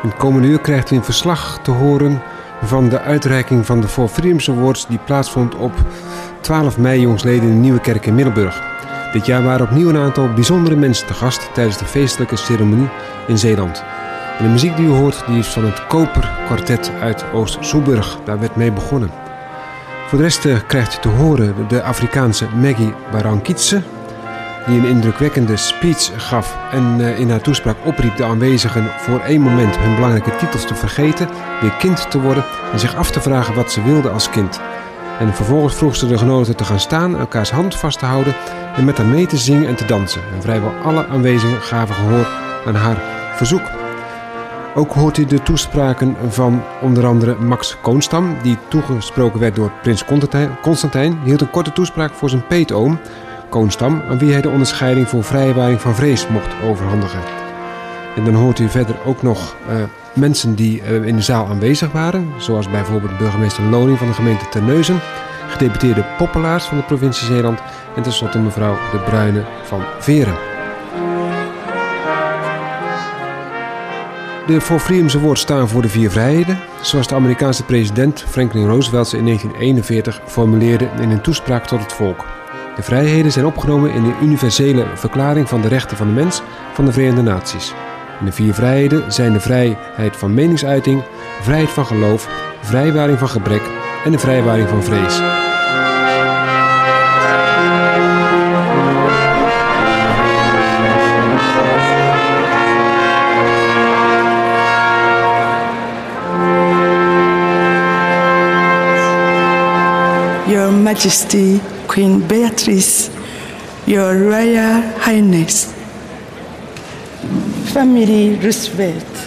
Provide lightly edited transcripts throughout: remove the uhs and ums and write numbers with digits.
In het komende uur krijgt u een verslag te horen van de uitreiking van de For Freedoms Awards die plaatsvond op 12 mei jongsleden in de Nieuwe Kerk in Middelburg. Dit jaar waren opnieuw een aantal bijzondere mensen te gast tijdens de feestelijke ceremonie in Zeeland. En de muziek die u hoort die is van het Koper Kwartet uit Oost-Soeburg. Daar werd mee begonnen. Voor de rest krijgt u te horen de Afrikaanse Maggie Barankitse, die een indrukwekkende speech gaf en in haar toespraak opriep de aanwezigen voor één moment hun belangrijke titels te vergeten, weer kind te worden en zich af te vragen wat ze wilden als kind. En vervolgens vroeg ze de genodigden te gaan staan, elkaars hand vast te houden en met haar mee te zingen en te dansen. En vrijwel alle aanwezigen gaven gehoor aan haar verzoek. Ook hoort u de toespraken van onder andere Max Koonstam, die toegesproken werd door prins Constantijn. Die hield een korte toespraak voor zijn peetoom, Koonstam, aan wie hij de onderscheiding voor vrijwaring van vrees mocht overhandigen. En dan hoort u verder ook nog mensen die in de zaal aanwezig waren, zoals bijvoorbeeld burgemeester Loning van de gemeente Terneuzen, gedeputeerde Poppelaars van de provincie Zeeland en tenslotte mevrouw De Bruyne van Veren. De For Freedoms Awards staan voor de 4 vrijheden, zoals de Amerikaanse president Franklin Roosevelt ze in 1941 formuleerde in een toespraak tot het volk. De vrijheden zijn opgenomen in de universele verklaring van de rechten van de mens van de Verenigde Naties. En de 4 vrijheden zijn de vrijheid van meningsuiting, vrijheid van geloof, vrijwaring van gebrek en de vrijwaring van vrees. Your Majesty, Queen Beatrice, Your Royal Highness, Family Roosevelt,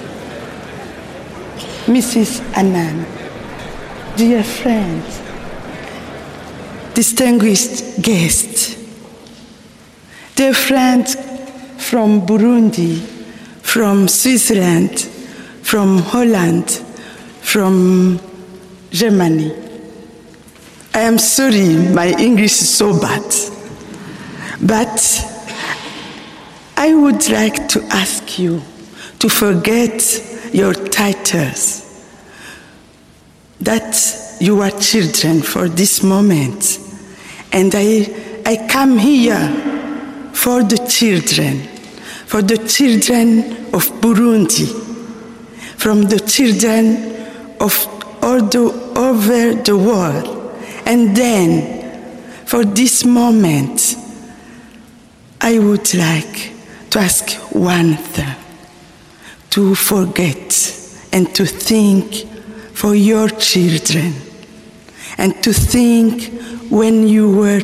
Mrs. Annan, dear friends, distinguished guests, dear friends from Burundi, from Switzerland, from Holland, from Germany. I am sorry, my English is so bad, but I would like to ask you to forget your titles, that you are children for this moment, and I come here for the children of Burundi, from the children of all over the world. And then, for this moment, I would like to ask one thing, to forget and to think for your children, and to think when you were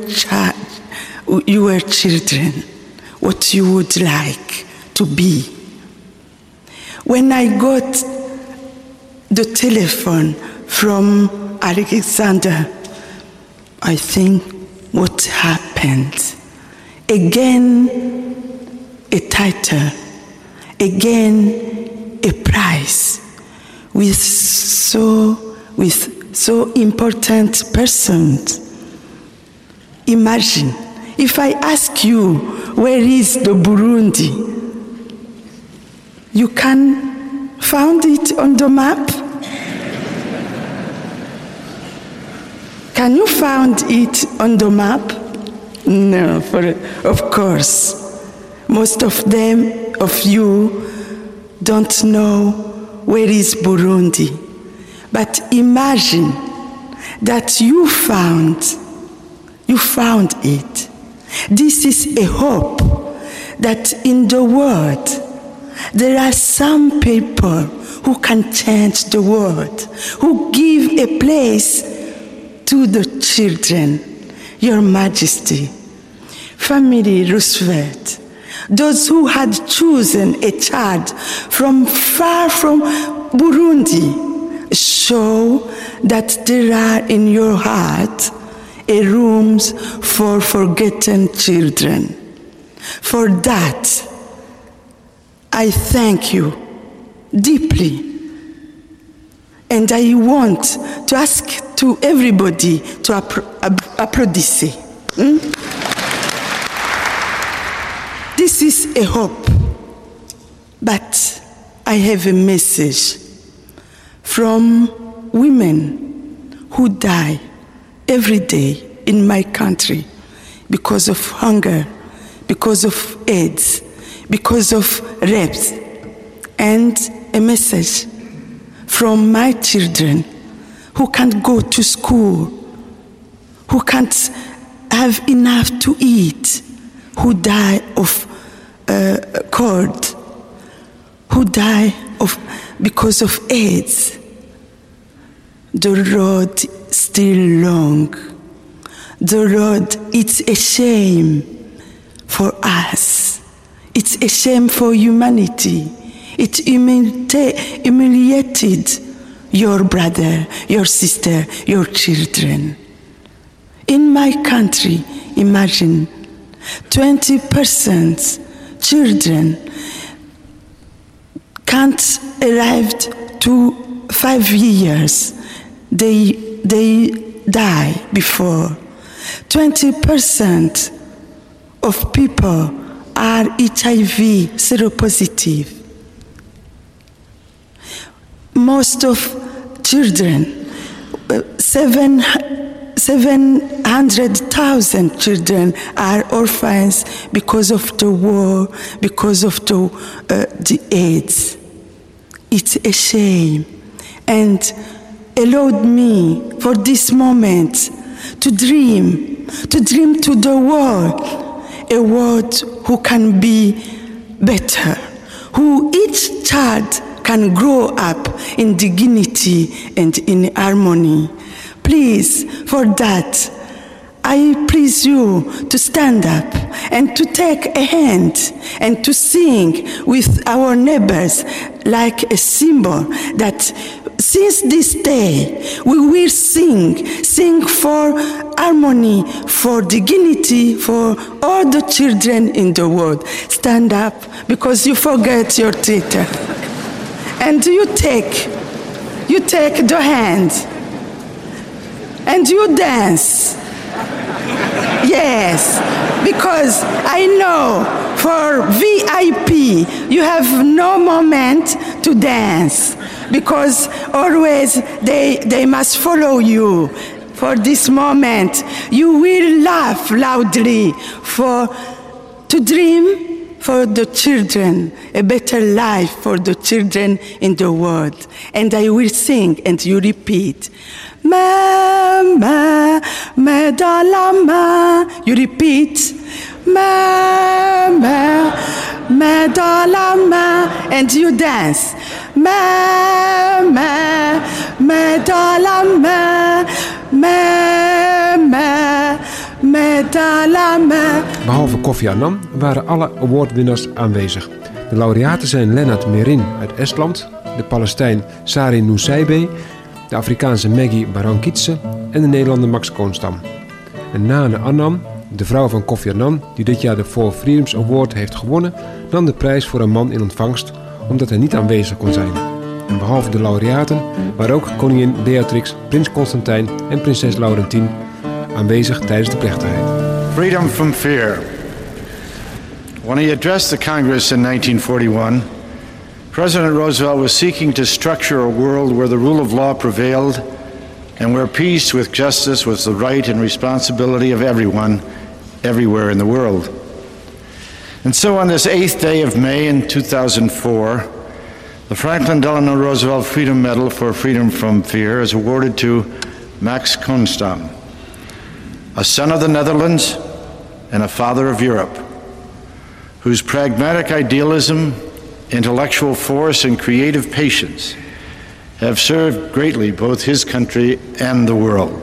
children, what you would like to be. When I got the telephone from Alexander, I think what happened. Again, a title. Again, a prize. With so important persons. Imagine, if I ask you, where is the Burundi? You can find it on the map? Can you find it on the map? No, of course. Most of you don't know where is Burundi. But imagine that you found it. This is a hope that in the world there are some people who can change the world, who give a place to the children. Your Majesty, Family Roosevelt, those who had chosen a child from far from Burundi, show that there are in your heart a rooms for forgotten children. For that, I thank you deeply. And I want to ask to everybody to applaudisse. This is a hope, but I have a message from women who die every day in my country because of hunger, because of AIDS, because of rapes, and a message from my children who can't go to school, who can't have enough to eat, who die of cold, who die because of AIDS. The road still long. The road, it's a shame for us. It's a shame for humanity. It humiliated your brother, your sister, your children. In my country, imagine 20% children can't arrive to 5 years. They die before. 20% of people are HIV seropositive. Most of children, 700,000 children are orphans because of the war, because of the AIDS. It's a shame. And allowed me for this moment to dream to the world, a world who can be better, who each child can grow up in dignity and in harmony. Please, for that, I please you to stand up and to take a hand and to sing with our neighbors like a symbol that since this day we will sing for harmony, for dignity, for all the children in the world. Stand up because you forget your theater. And you take the hand and you dance. Yes, because I know for VIP you have no moment to dance because always they must follow you. For this moment you will laugh loudly to dream for the children, a better life for the children in the world. And I will sing and you repeat. Mama, medalama. You repeat. Mama, medalama. And you dance. Mama, medalama. Mama, medalama. Behalve Kofi Annan waren alle awardwinners aanwezig. De laureaten zijn Lennart Merin uit Estland, de Palestijn Sari Nusseibeh, de Afrikaanse Maggie Barankitse en de Nederlander Max Koonstam. En Nane Annan, de vrouw van Kofi Annan, die dit jaar de Four Freedoms Award heeft gewonnen, nam de prijs voor een man in ontvangst omdat hij niet aanwezig kon zijn. En behalve de laureaten waren ook koningin Beatrix, prins Constantijn en prinses Laurentien aanwezig tijdens de plechtigheid. Freedom from fear. When he addressed the Congress in 1941, President Roosevelt was seeking to structure a world where the rule of law prevailed and where peace with justice was the right and responsibility of everyone, everywhere in the world. And so on this 8th day of May in 2004, the Franklin Delano Roosevelt Freedom Medal for Freedom from Fear is awarded to Max Koonstam, a son of the Netherlands and a father of Europe, whose pragmatic idealism, intellectual force, and creative patience have served greatly both his country and the world.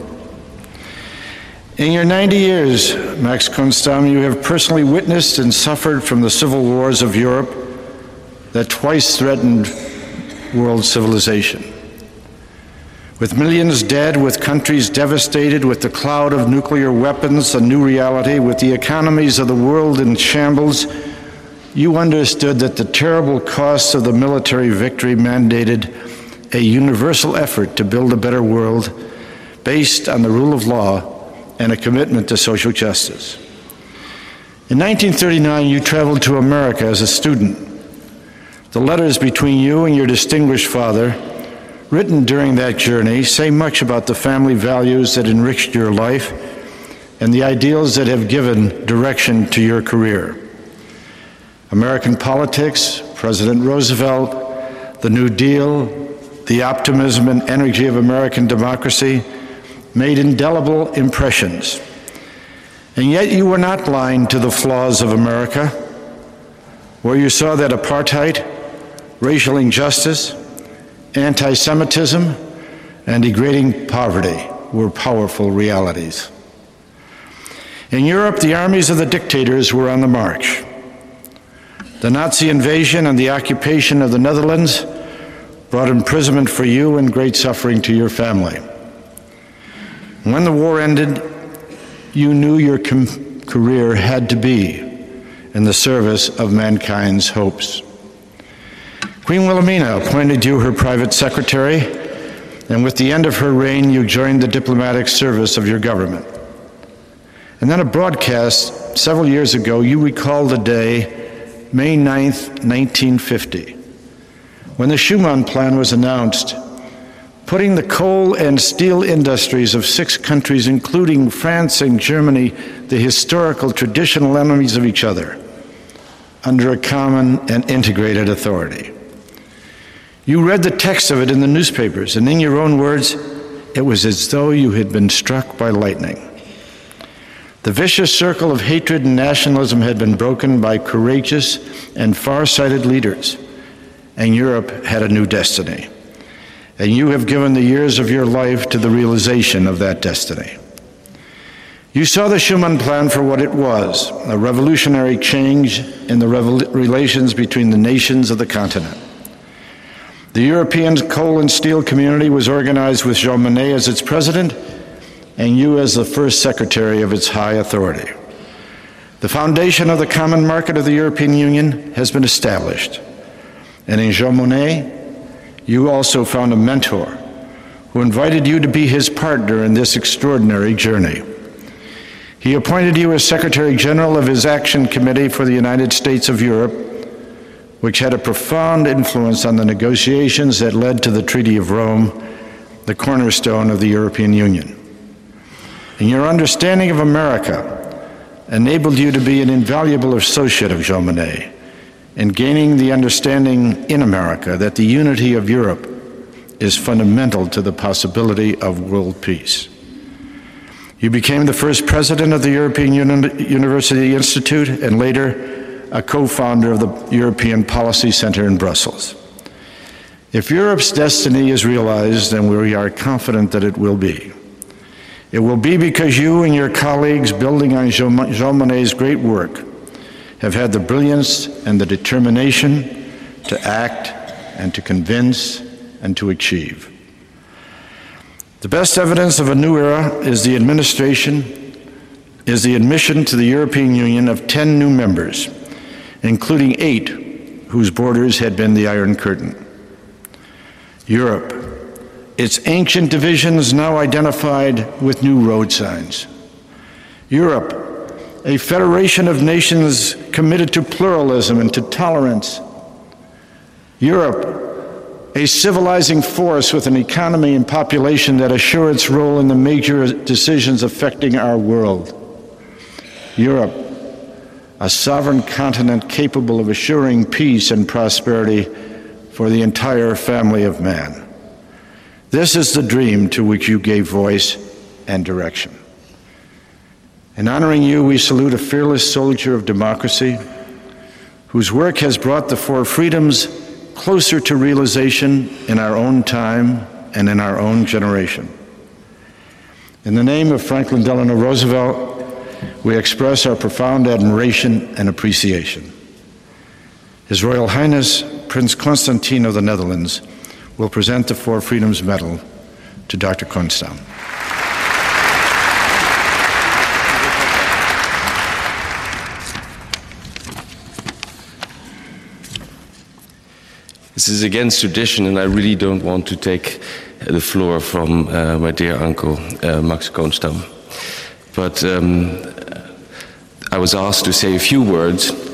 In your 90 years, Max Koonstam, you have personally witnessed and suffered from the civil wars of Europe that twice threatened world civilization. With millions dead, with countries devastated, with the cloud of nuclear weapons a new reality, with the economies of the world in shambles, you understood that the terrible costs of the military victory mandated a universal effort to build a better world based on the rule of law and a commitment to social justice. In 1939, you traveled to America as a student, The letters between you and your distinguished father, written during that journey, say much about the family values that enriched your life and the ideals that have given direction to your career. American politics, President Roosevelt, the New Deal, the optimism and energy of American democracy made indelible impressions. And yet you were not blind to the flaws of America, where you saw that apartheid, racial injustice, anti-Semitism, and degrading poverty were powerful realities. In Europe, the armies of the dictators were on the march. The Nazi invasion and the occupation of the Netherlands brought imprisonment for you and great suffering to your family. When the war ended, you knew your career had to be in the service of mankind's hopes. Queen Wilhelmina appointed you her private secretary, and with the end of her reign, you joined the diplomatic service of your government. And then a broadcast several years ago, you recalled the day, May 9th, 1950, when the Schuman Plan was announced, putting the coal and steel industries of 6 countries, including France and Germany, the historical traditional enemies of each other, under a common and integrated authority. You read the text of it in the newspapers, and in your own words, it was as though you had been struck by lightning. The vicious circle of hatred and nationalism had been broken by courageous and far-sighted leaders, and Europe had a new destiny. And you have given the years of your life to the realization of that destiny. You saw the Schuman Plan for what it was, a revolutionary change in the relations between the nations of the continent. The European coal and steel community was organized with Jean Monnet as its president, and you as the first secretary of its high authority. The foundation of the common market of the European Union has been established. And in Jean Monnet, you also found a mentor who invited you to be his partner in this extraordinary journey. He appointed you as Secretary General of his Action Committee for the United States of Europe, which had a profound influence on the negotiations that led to the Treaty of Rome, the cornerstone of the European Union. And your understanding of America enabled you to be an invaluable associate of Jean Monnet in gaining the understanding in America that the unity of Europe is fundamental to the possibility of world peace. You became the first president of the European University Institute and later a co-founder of the European Policy Center in Brussels. If Europe's destiny is realized, and we are confident that it will be because you and your colleagues, building on Jean Monnet's great work, have had the brilliance and the determination to act and to convince and to achieve. The best evidence of a new era is the admission to the European Union of 10 new members, including 8 whose borders had been the Iron Curtain. Europe, its ancient divisions now identified with new road signs. Europe, a federation of nations committed to pluralism and to tolerance. Europe, a civilizing force with an economy and population that assure its role in the major decisions affecting our world. Europe, a sovereign continent capable of assuring peace and prosperity for the entire family of man. This is the dream to which you gave voice and direction. In honoring you, we salute a fearless soldier of democracy whose work has brought the 4 freedoms closer to realization in our own time and in our own generation. In the name of Franklin Delano Roosevelt, we express our profound admiration and appreciation. His Royal Highness, Prince Constantine of the Netherlands, will present the 4 Freedoms Medal to Dr. Konstam. This is against tradition, and I really don't want to take the floor from my dear uncle, Max Konstam. But I was asked to say a few words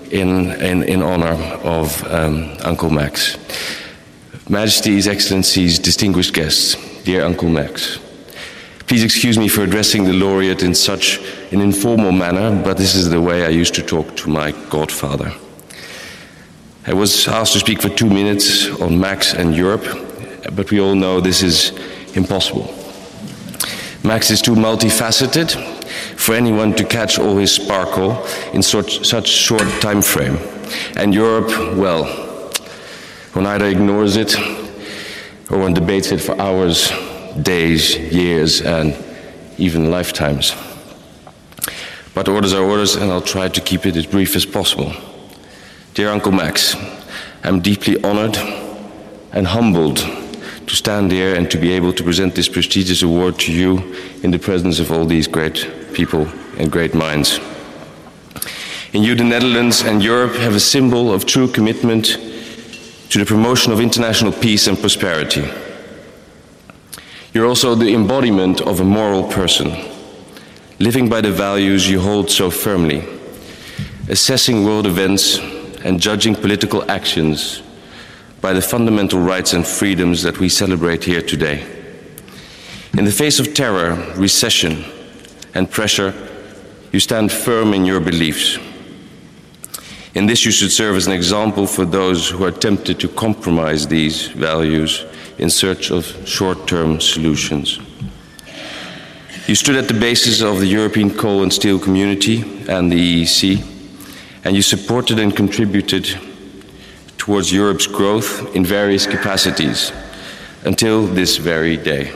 in honor of Uncle Max. Majesties, Excellencies, distinguished guests, dear Uncle Max. Please excuse me for addressing the laureate in such an informal manner, but this is the way I used to talk to my godfather. I was asked to speak for 2 minutes on Max and Europe, but we all know this is impossible. Max is too multifaceted for anyone to catch all his sparkle in such short time frame. And Europe, well, one either ignores it or one debates it for hours, days, years, and even lifetimes. But orders are orders, and I'll try to keep it as brief as possible. Dear Uncle Max, I'm deeply honored and humbled to stand here and to be able to present this prestigious award to you in the presence of all these great people and great minds. In you, the Netherlands and Europe have a symbol of true commitment to the promotion of international peace and prosperity. You're also the embodiment of a moral person, living by the values you hold so firmly, assessing world events and judging political actions by the fundamental rights and freedoms that we celebrate here today. In the face of terror, recession, and pressure, you stand firm in your beliefs. In this, you should serve as an example for those who are tempted to compromise these values in search of short-term solutions. You stood at the basis of the European coal and steel community and the EEC, and you supported and contributed towards Europe's growth in various capacities until this very day.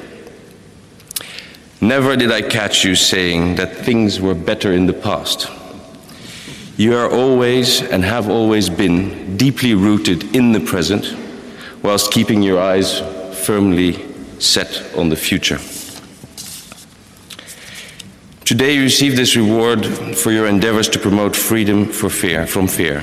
Never did I catch you saying that things were better in the past. You are always and have always been deeply rooted in the present, whilst keeping your eyes firmly set on the future. Today you receive this reward for your endeavors to promote freedom from fear.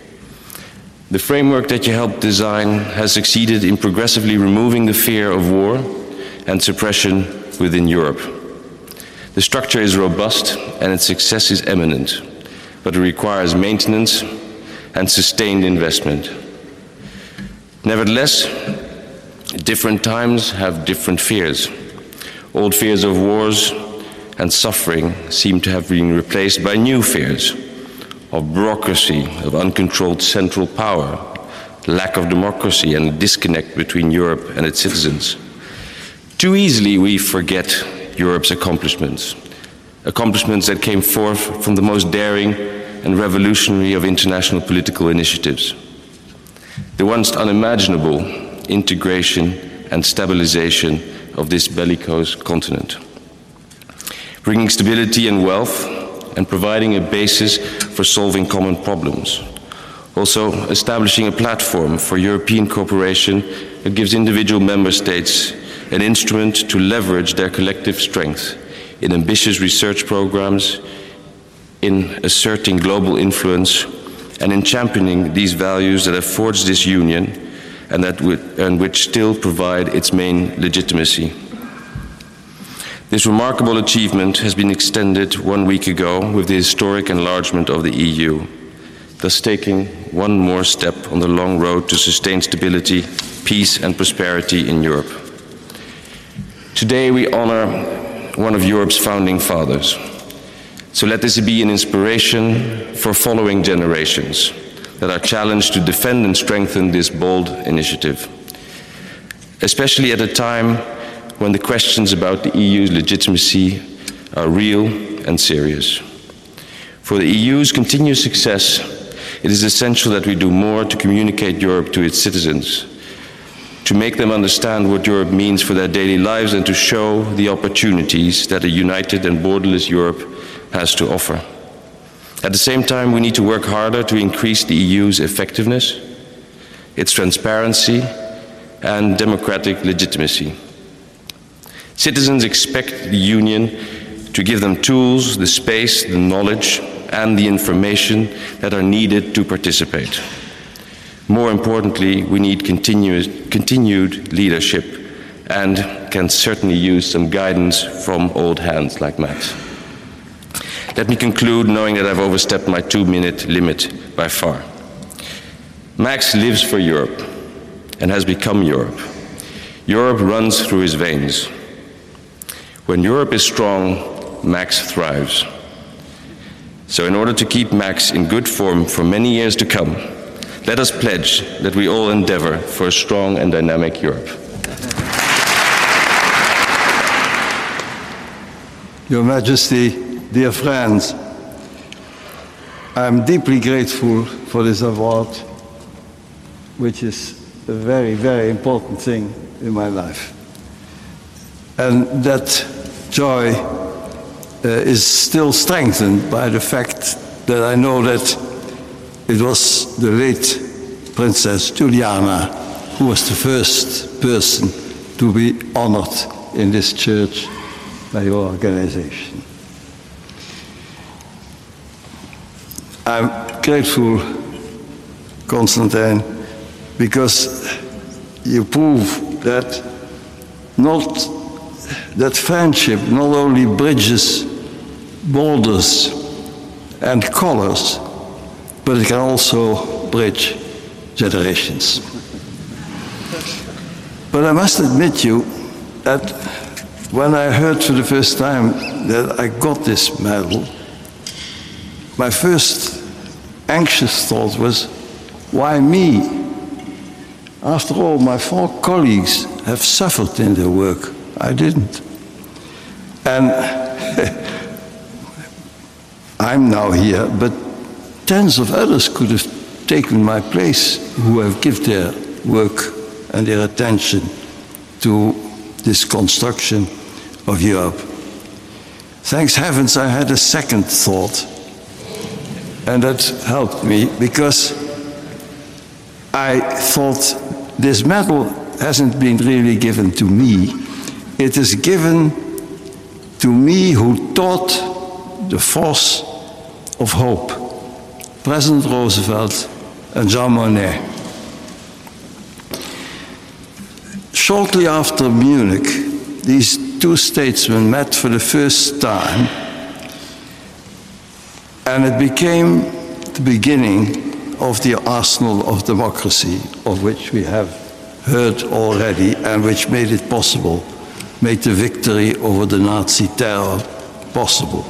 The framework that you helped design has succeeded in progressively removing the fear of war and suppression within Europe. The structure is robust and its success is eminent, but it requires maintenance and sustained investment. Nevertheless, different times have different fears. Old fears of wars and suffering seem to have been replaced by new fears of bureaucracy, of uncontrolled central power, lack of democracy, and a disconnect between Europe and its citizens. Too easily we forget Europe's accomplishments that came forth from the most daring and revolutionary of international political initiatives. The once unimaginable integration and stabilization of this bellicose continent, bringing stability and wealth and providing a basis for solving common problems. Also establishing a platform for European cooperation that gives individual member states an instrument to leverage their collective strength in ambitious research programs, in asserting global influence, and in championing these values that have forged this union and which still provide its main legitimacy. This remarkable achievement has been extended 1 week ago with the historic enlargement of the EU, thus taking one more step on the long road to sustained stability, peace and prosperity in Europe. Today we honor one of Europe's founding fathers. So let this be an inspiration for following generations that are challenged to defend and strengthen this bold initiative, especially at a time when the questions about the EU's legitimacy are real and serious. For the EU's continued success, it is essential that we do more to communicate Europe to its citizens, to make them understand what Europe means for their daily lives and to show the opportunities that a united and borderless Europe has to offer. At the same time, we need to work harder to increase the EU's effectiveness, its transparency, and democratic legitimacy. Citizens expect the Union to give them tools, the space, the knowledge, and the information that are needed to participate. More importantly, we need continued leadership and can certainly use some guidance from old hands like Max. Let me conclude knowing that I've overstepped my 2-minute limit by far. Max lives for Europe and has become Europe. Europe runs through his veins. When Europe is strong, Max thrives. So in order to keep Max in good form for many years to come, let us pledge that we all endeavor for a strong and dynamic Europe. Your Majesty, dear friends, I am deeply grateful for this award, which is a very, very important thing in my life. And that joy is still strengthened by the fact that I know that it was the late Princess Juliana who was the first person to be honored in this church by your organization. I'm grateful, Constantine, because you prove that friendship not only bridges borders and colors, but it can also bridge generations. But I must admit you that when I heard for the first time that I got this medal, my first anxious thought was, why me? After all, my 4 colleagues have suffered in their work. I didn't. And I'm now here, but tens of others could have taken my place who have given their work and their attention to this construction of Europe. Thanks heavens I had a second thought, and that helped me because I thought this medal hasn't been really given to me. It is given to me who taught the force of hope, President Roosevelt and Jean Monnet. Shortly after Munich, these 2 statesmen met for the first time, and it became the beginning of the arsenal of democracy, of which we have heard already, and which made it possible, made the victory over the Nazi terror possible.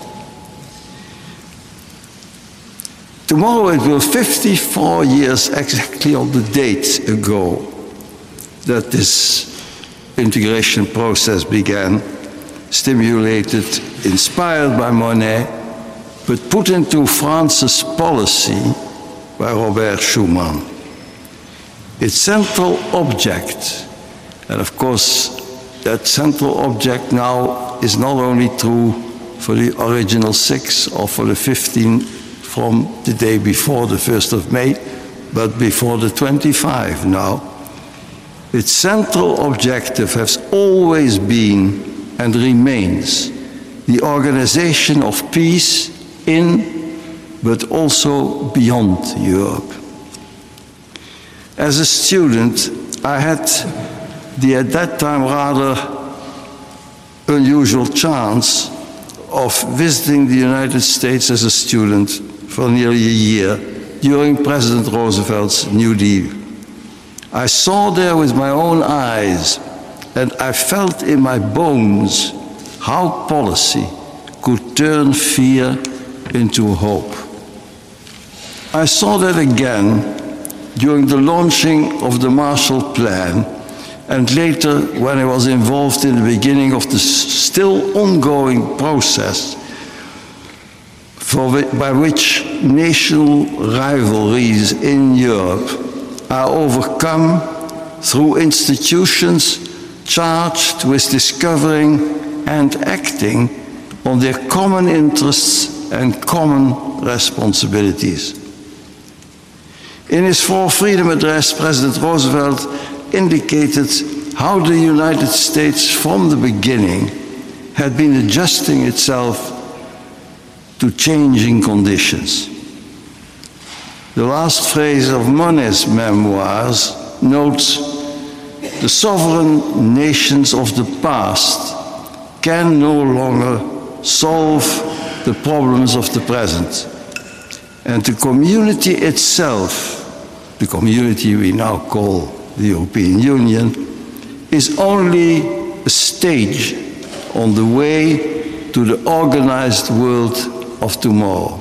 Tomorrow it will 54 years exactly on the date ago that this integration process began, stimulated, inspired by Monnet, but put into France's policy by Robert Schuman. Its central object, and of course that central object now is not only true for the original 6 or for the 15 from the day before the 1st of May, but before the 25 now. Its central objective has always been and remains the organization of peace in but also beyond Europe. As a student, I had the at that time rather unusual chance of visiting the United States as a student for nearly a year during President Roosevelt's New Deal. I saw there with my own eyes, and I felt in my bones how policy could turn fear into hope. I saw that again during the launching of the Marshall Plan, and later when I was involved in the beginning of the still ongoing process by which national rivalries in Europe are overcome through institutions charged with discovering and acting on their common interests and common responsibilities. In his For Freedom address, President Roosevelt indicated how the United States from the beginning had been adjusting itself to changing conditions. The last phrase of Monnet's memoirs notes, "The sovereign nations of the past can no longer solve the problems of the present. And the community itself, the community we now call the European Union, is only a stage on the way to the organized world of tomorrow.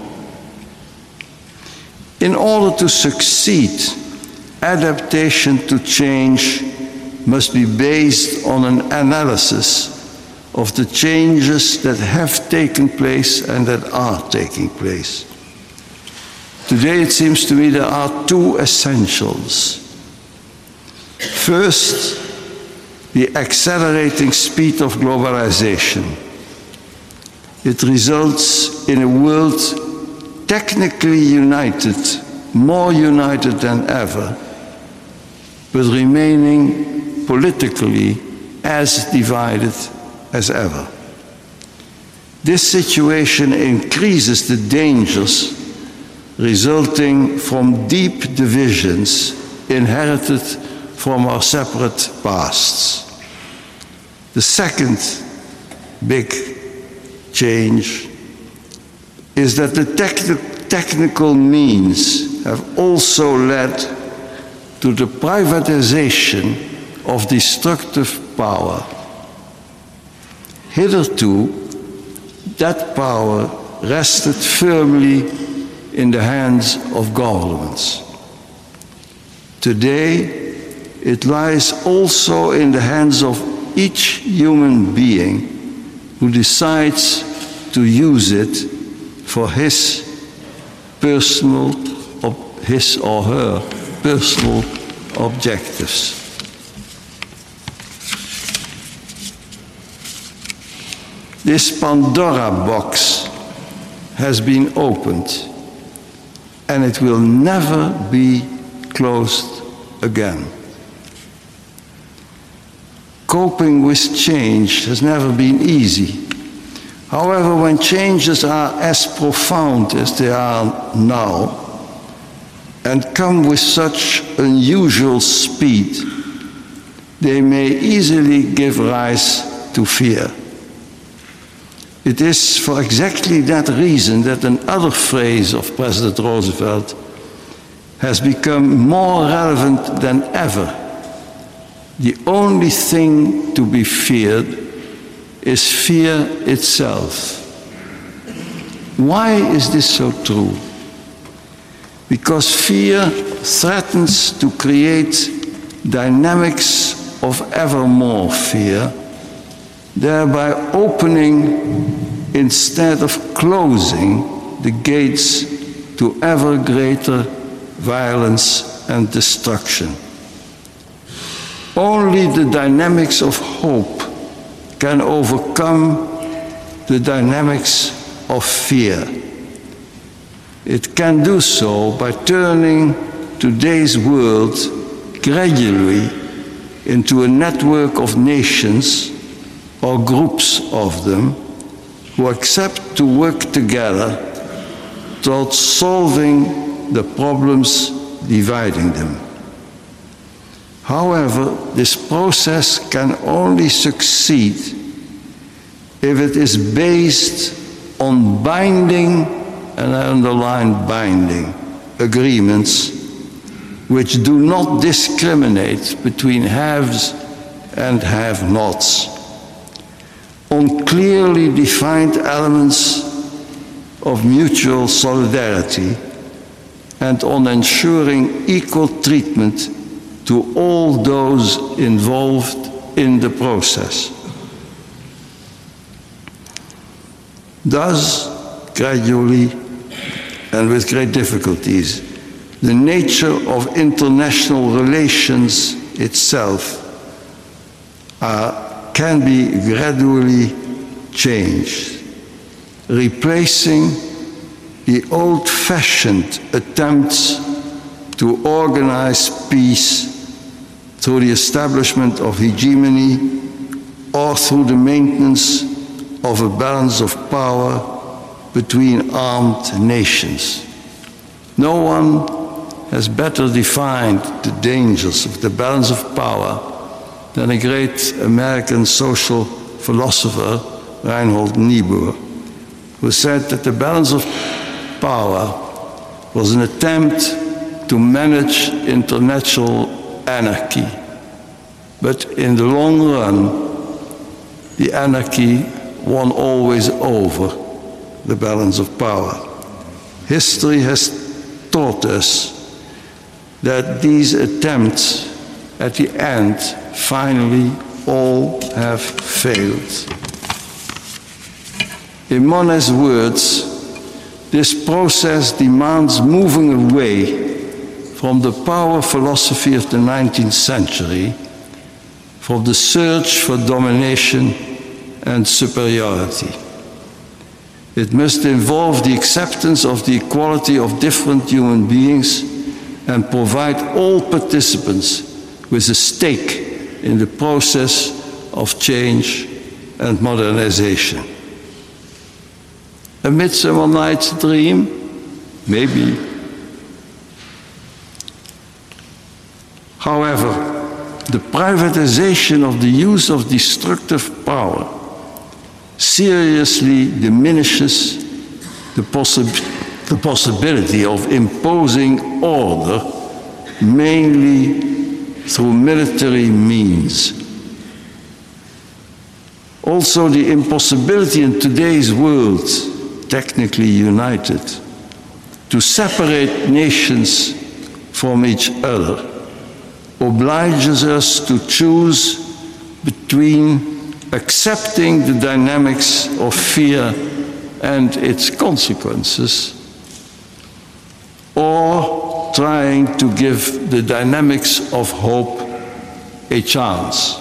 In order to succeed, adaptation to change must be based on an analysis of the changes that have taken place and that are taking place. Today, it seems to me there are two essentials. First, the accelerating speed of globalization. It results in a world technically united, more united than ever, but remaining politically as divided as ever. This situation increases the dangers resulting from deep divisions inherited from our separate pasts. The second big change is that the technical means have also led to the privatization of destructive power. Hitherto, that power rested firmly in the hands of governments. Today, it lies also in the hands of each human being who decides to use it for his or her personal objectives. This Pandora box has been opened, and it will never be closed again. Coping with change has never been easy. However, when changes are as profound as they are now, and come with such unusual speed, they may easily give rise to fear. It is for exactly that reason that another phrase of President Roosevelt has become more relevant than ever. The only thing to be feared is fear itself. Why is this so true? Because fear threatens to create dynamics of ever more fear, thereby opening instead of closing the gates to ever greater violence and destruction. Only the dynamics of hope can overcome the dynamics of fear. It can do so by turning today's world gradually into a network of nations or groups of them who accept to work together towards solving the problems dividing them. However, this process can only succeed if it is based on binding, and I underline binding, agreements which do not discriminate between haves and have-nots, on clearly defined elements of mutual solidarity, and on ensuring equal treatment to all those involved in the process. Thus, gradually and with great difficulties, the nature of international relations itself can be gradually changed, replacing the old-fashioned attempts to organize peace through the establishment of hegemony or through the maintenance of a balance of power between armed nations. No one has better defined the dangers of the balance of power than a great American social philosopher, Reinhold Niebuhr, who said that the balance of power was an attempt to manage international anarchy. But in the long run, the anarchy won always over the balance of power. History has taught us that these attempts at the end finally all have failed. In Monet's words, this process demands moving away from the power philosophy of the 19th century, from the search for domination and superiority. It must involve the acceptance of the equality of different human beings and provide all participants with a stake in the process of change and modernization. A Midsummer Night's Dream? Maybe. However, the privatization of the use of destructive power seriously diminishes the possibility of imposing order, mainly through military means. Also, the impossibility in today's world, technically united, to separate nations from each other obliges us to choose between accepting the dynamics of fear and its consequences, or trying to give the dynamics of hope a chance.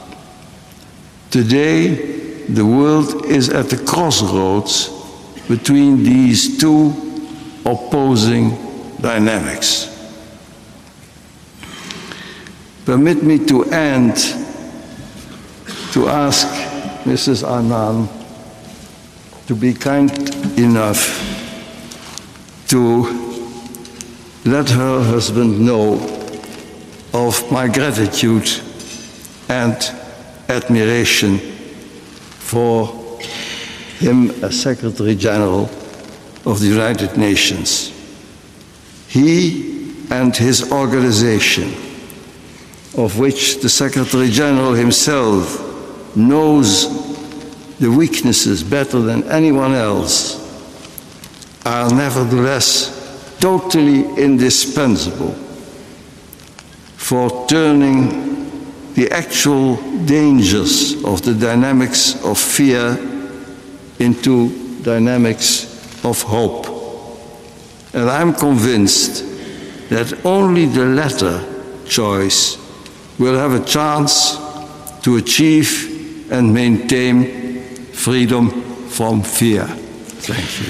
Today, the world is at the crossroads between these two opposing dynamics. Permit me to end to ask Mrs. Annan to be kind enough to let her husband know of my gratitude and admiration for him as Secretary General of the United Nations. He and his organization, of which the Secretary General himself knows the weaknesses better than anyone else, are nevertheless totally indispensable for turning the actual dangers of the dynamics of fear into dynamics of hope. And I'm convinced that only the latter choice will have a chance to achieve and maintain freedom from fear. Thank you.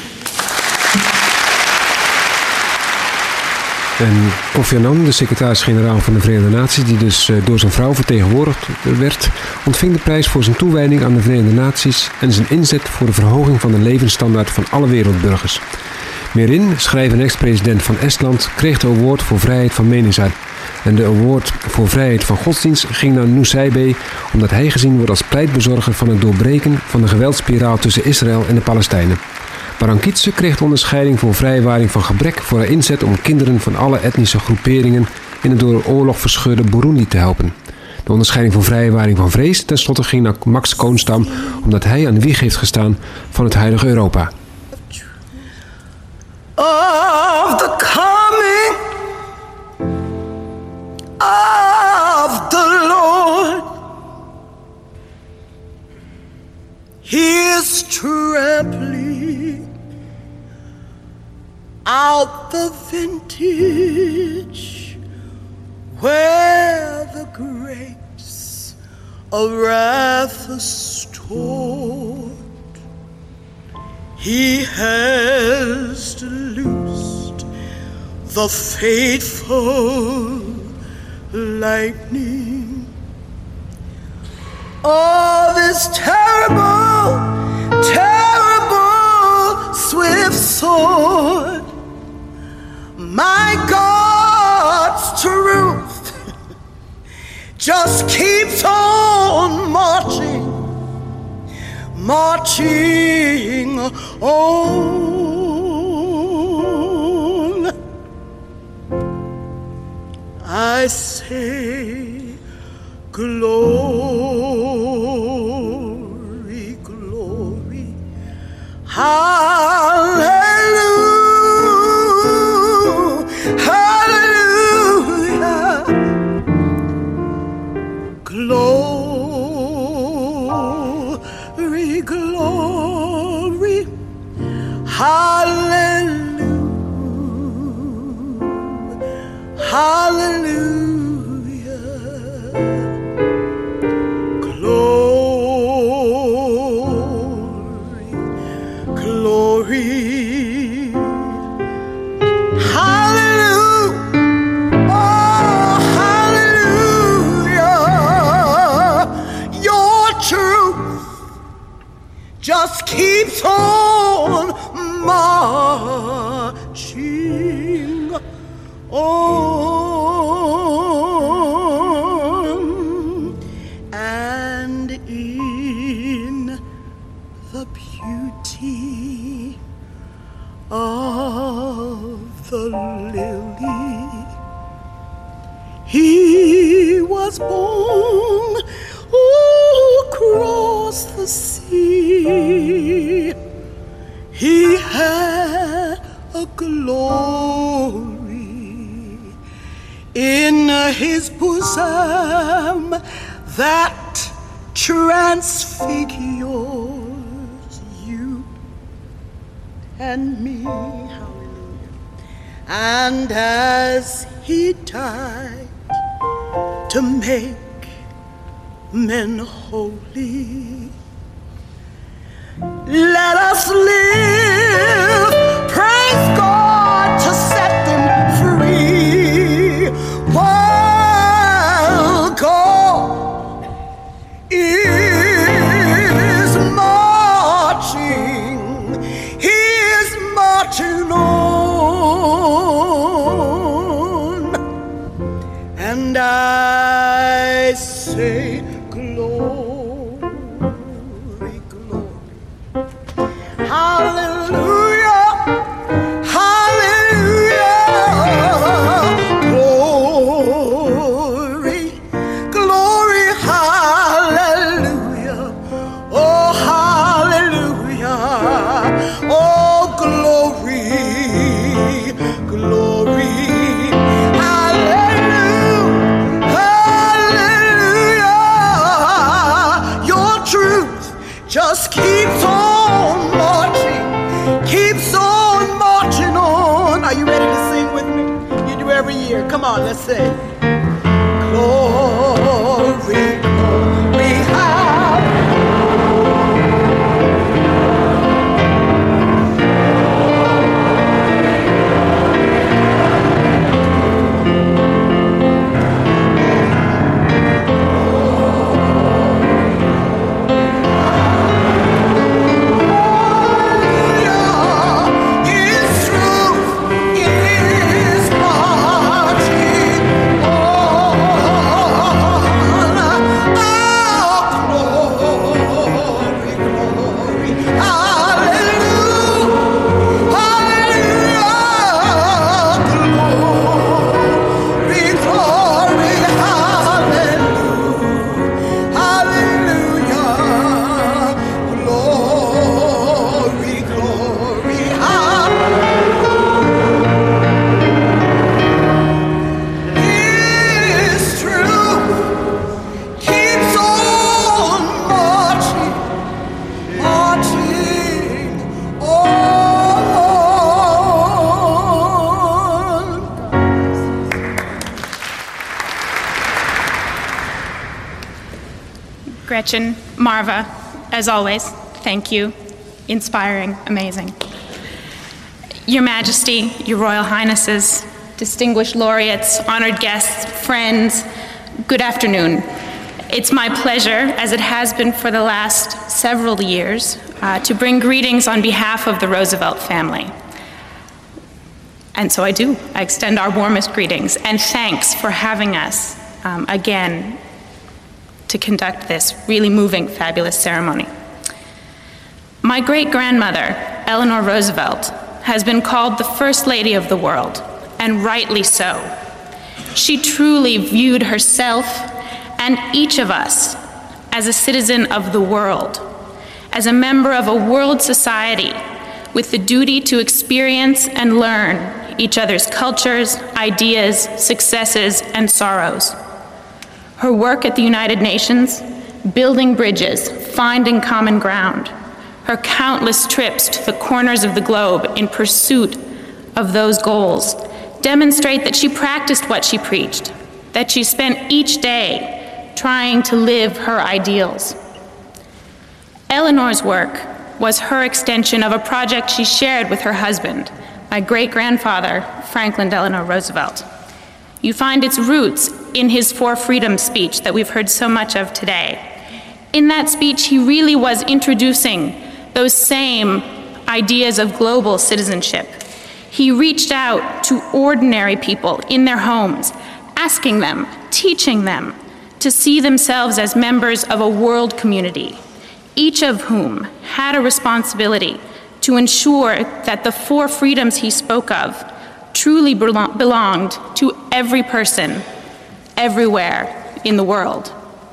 En Kofi Annan, de secretaris-generaal van de Verenigde Naties, die dus door zijn vrouw vertegenwoordigd werd, ontving de prijs voor zijn toewijding aan de Verenigde Naties en zijn inzet voor de verhoging van de levensstandaard van alle wereldburgers. Meerin, schrijver en ex-president van Estland, kreeg de award voor vrijheid van meningsuiting. En de award voor vrijheid van godsdienst ging naar Nusaybeh, omdat hij gezien wordt als pleitbezorger van het doorbreken van de geweldspiraal tussen Israël en de Palestijnen. Barankitse kreeg de onderscheiding voor vrijwaring van gebrek voor haar inzet om kinderen van alle etnische groeperingen in het door oorlog verscheurde Burundi te helpen. De onderscheiding voor vrijwaring van vrees tenslotte ging naar Max Koonstam, omdat hij aan de wieg heeft gestaan van het huidige Europa. Of the coming of the Lord, He is trampling out the vintage where the grapes of wrath are stored. He has loosed the fateful lightning of His terrible, terrible swift sword. My God's truth just keeps on marching, marching on. I say, glory, glory, hallelujah, hallelujah, glory, glory, hallelujah, hallelujah. Just keeps on marching on, and in the beauty of the lily he was born across the sea. He had a glory in his bosom that transfigures you and me. Hallelujah. And as he died to make men holy, let us live, praise God, to set them free, while God is marching, He is marching on, and I say, hallelujah, hallelujah, glory, glory, hallelujah, oh hallelujah, oh glory, glory, hallelujah, hallelujah, your truth just keeps on marching, keeps on marching on. Are you ready to sing with me? You do every year. Come on, let's sing. Glory, glory, Gretchen, Marva, as always, thank you. Inspiring, amazing. Your Majesty, Your Royal Highnesses, distinguished laureates, honored guests, friends, good afternoon. It's my pleasure, as it has been for the last several years, to bring greetings on behalf of the Roosevelt family. And so I do. I extend our warmest greetings and thanks for having us again to conduct this really moving, fabulous ceremony. My great-grandmother, Eleanor Roosevelt, has been called the First Lady of the world, and rightly so. She truly viewed herself and each of us as a citizen of the world, as a member of a world society with the duty to experience and learn each other's cultures, ideas, successes, and sorrows. Her work at the United Nations, building bridges, finding common ground, her countless trips to the corners of the globe in pursuit of those goals demonstrate that she practiced what she preached, that she spent each day trying to live her ideals. Eleanor's work was her extension of a project she shared with her husband, my great-grandfather, Franklin Delano Roosevelt. You find its roots in his Four Freedoms speech that we've heard so much of today. In that speech, he really was introducing those same ideas of global citizenship. He reached out to ordinary people in their homes, asking them, teaching them to see themselves as members of a world community, each of whom had a responsibility to ensure that the four freedoms he spoke of truly belonged to every person, everywhere in the world.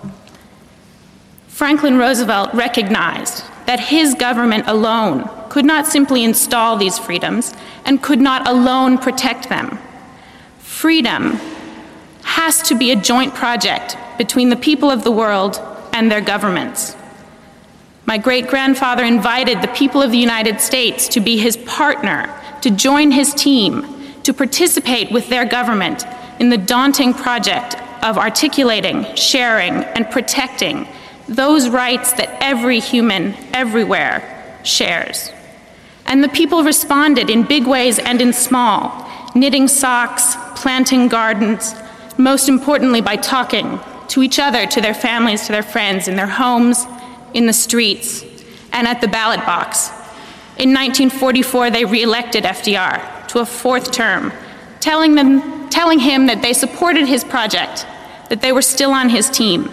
Franklin Roosevelt recognized that his government alone could not simply install these freedoms and could not alone protect them. Freedom has to be a joint project between the people of the world and their governments. My great-grandfather invited the people of the United States to be his partner, to join his team, to participate with their government in the daunting project of articulating, sharing, and protecting those rights that every human everywhere shares. And the people responded in big ways and in small, knitting socks, planting gardens, most importantly by talking to each other, to their families, to their friends, in their homes, in the streets, and at the ballot box. In 1944, they re-elected FDR to a fourth term, telling him that they supported his project, that they were still on his team.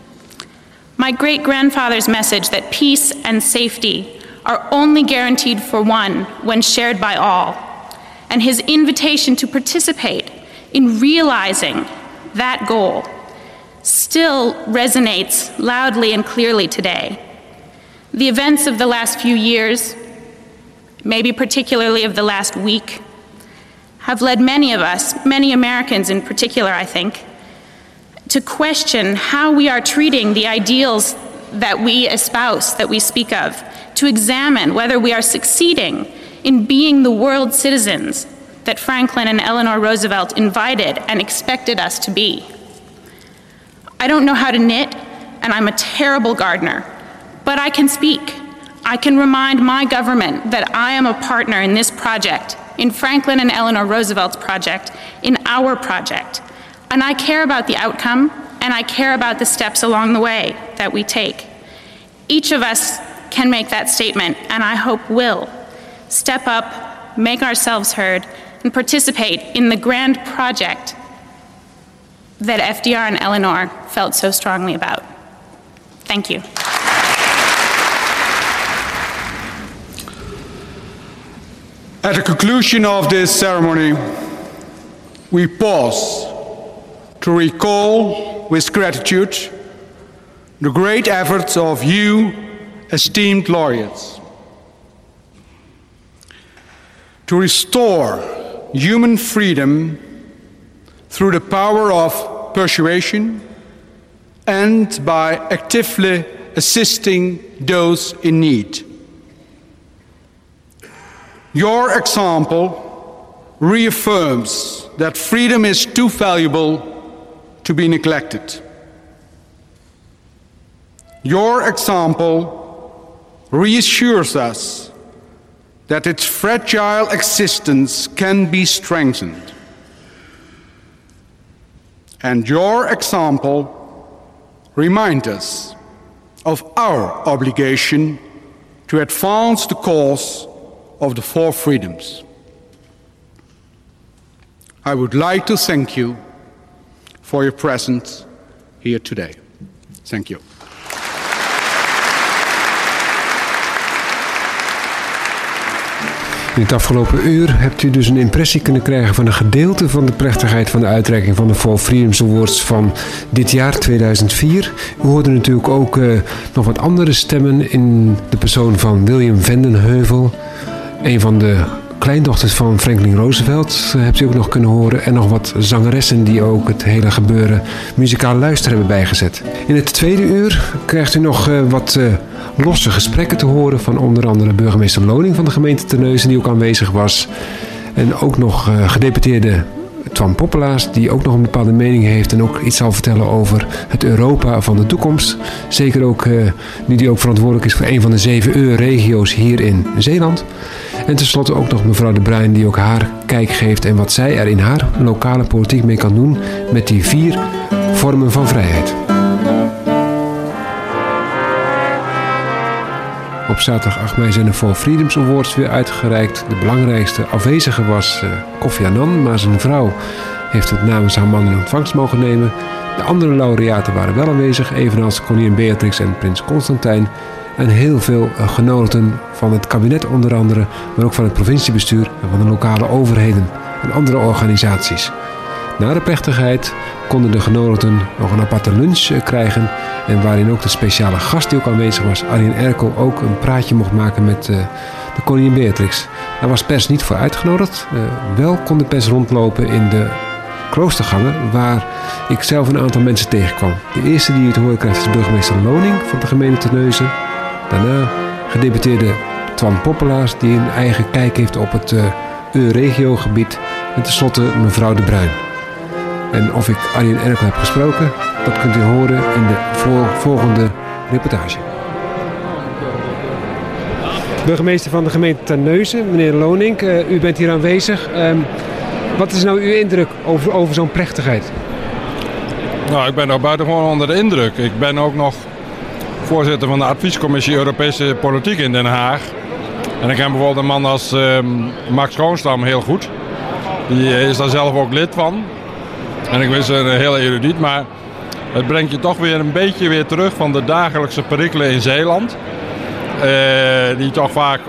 My great-grandfather's message that peace and safety are only guaranteed for one when shared by all, and his invitation to participate in realizing that goal still resonates loudly and clearly today. The events of the last few years, maybe particularly of the last week, have led many of us, many Americans in particular, I think, to question how we are treating the ideals that we espouse, that we speak of, to examine whether we are succeeding in being the world citizens that Franklin and Eleanor Roosevelt invited and expected us to be. I don't know how to knit, and I'm a terrible gardener, but I can speak. I can remind my government that I am a partner in this project, in Franklin and Eleanor Roosevelt's project, in our project. And I care about the outcome, and I care about the steps along the way that we take. Each of us can make that statement, and I hope will step up, make ourselves heard, and participate in the grand project that FDR and Eleanor felt so strongly about. Thank you. At the conclusion of this ceremony, we pause to recall with gratitude the great efforts of you, esteemed laureates, to restore human freedom through the power of persuasion and by actively assisting those in need. Your example reaffirms that freedom is too valuable to be neglected. Your example reassures us that its fragile existence can be strengthened. And your example reminds us of our obligation to advance the cause of the four freedoms. I would like to thank you for your presence here today. Thank you. In het afgelopen uur hebt u dus een impressie kunnen krijgen van een gedeelte van de plechtigheid van de uitreiking van de For Freedoms Awards van dit jaar 2004. U hoorde natuurlijk ook nog wat andere stemmen in de persoon van William Vendenheuvel, een van de kleindochters van Franklin Roosevelt, hebt u ook nog kunnen horen. En nog wat zangeressen die ook het hele gebeuren muzikaal luister hebben bijgezet. In het tweede uur krijgt u nog wat losse gesprekken te horen van onder andere burgemeester Loning van de gemeente Terneuzen, die ook aanwezig was. En ook nog gedeputeerde Twan Poppelaars, die ook nog een bepaalde mening heeft en ook iets zal vertellen over het Europa van de toekomst. Zeker ook nu die ook verantwoordelijk is voor een van de 7 EU-regio's hier in Zeeland. En tenslotte ook nog mevrouw De Bruin, die ook haar kijk geeft en wat zij er in haar lokale politiek mee kan doen met die 4 vormen van vrijheid. Op zaterdag 8 mei zijn de For Freedoms Awards weer uitgereikt. De belangrijkste afwezige was Kofi Annan, maar zijn vrouw heeft het namens haar man in ontvangst mogen nemen. De andere laureaten waren wel aanwezig, evenals koningin Beatrix en prins Constantijn. En heel veel genodigden van het kabinet onder andere, maar ook van het provinciebestuur en van de lokale overheden en andere organisaties. Na de plechtigheid konden de genodigden nog een aparte lunch krijgen en waarin ook de speciale gast die ook aanwezig was, Arjen Erkel, ook een praatje mocht maken met de koningin Beatrix. Daar was pers niet voor uitgenodigd. Wel kon de pers rondlopen in de kloostergangen, waar ik zelf een aantal mensen tegenkwam. De eerste die u te horen krijgt is burgemeester Loning van de gemeente Terneuzen. Daarna gedeputeerde Twan Poppelaars, die een eigen kijk heeft op het EU-regiogebied. En tenslotte mevrouw De Bruin. En of ik Arjen Erkel heb gesproken, dat kunt u horen in de volgende reportage. Burgemeester van de gemeente Terneuzen, meneer Loning, u bent hier aanwezig. Wat is nou uw indruk over zo'n plechtigheid? Nou, ik ben nog buitengewoon onder de indruk. Ik ben ook nog voorzitter van de adviescommissie Europese Politiek in Den Haag. En ik ken bijvoorbeeld een man als Max Koonstam heel goed. Die is daar zelf ook lid van. En ik wist een heel erudiet, maar het brengt je toch weer een beetje weer terug van de dagelijkse perikelen in Zeeland. Die toch vaak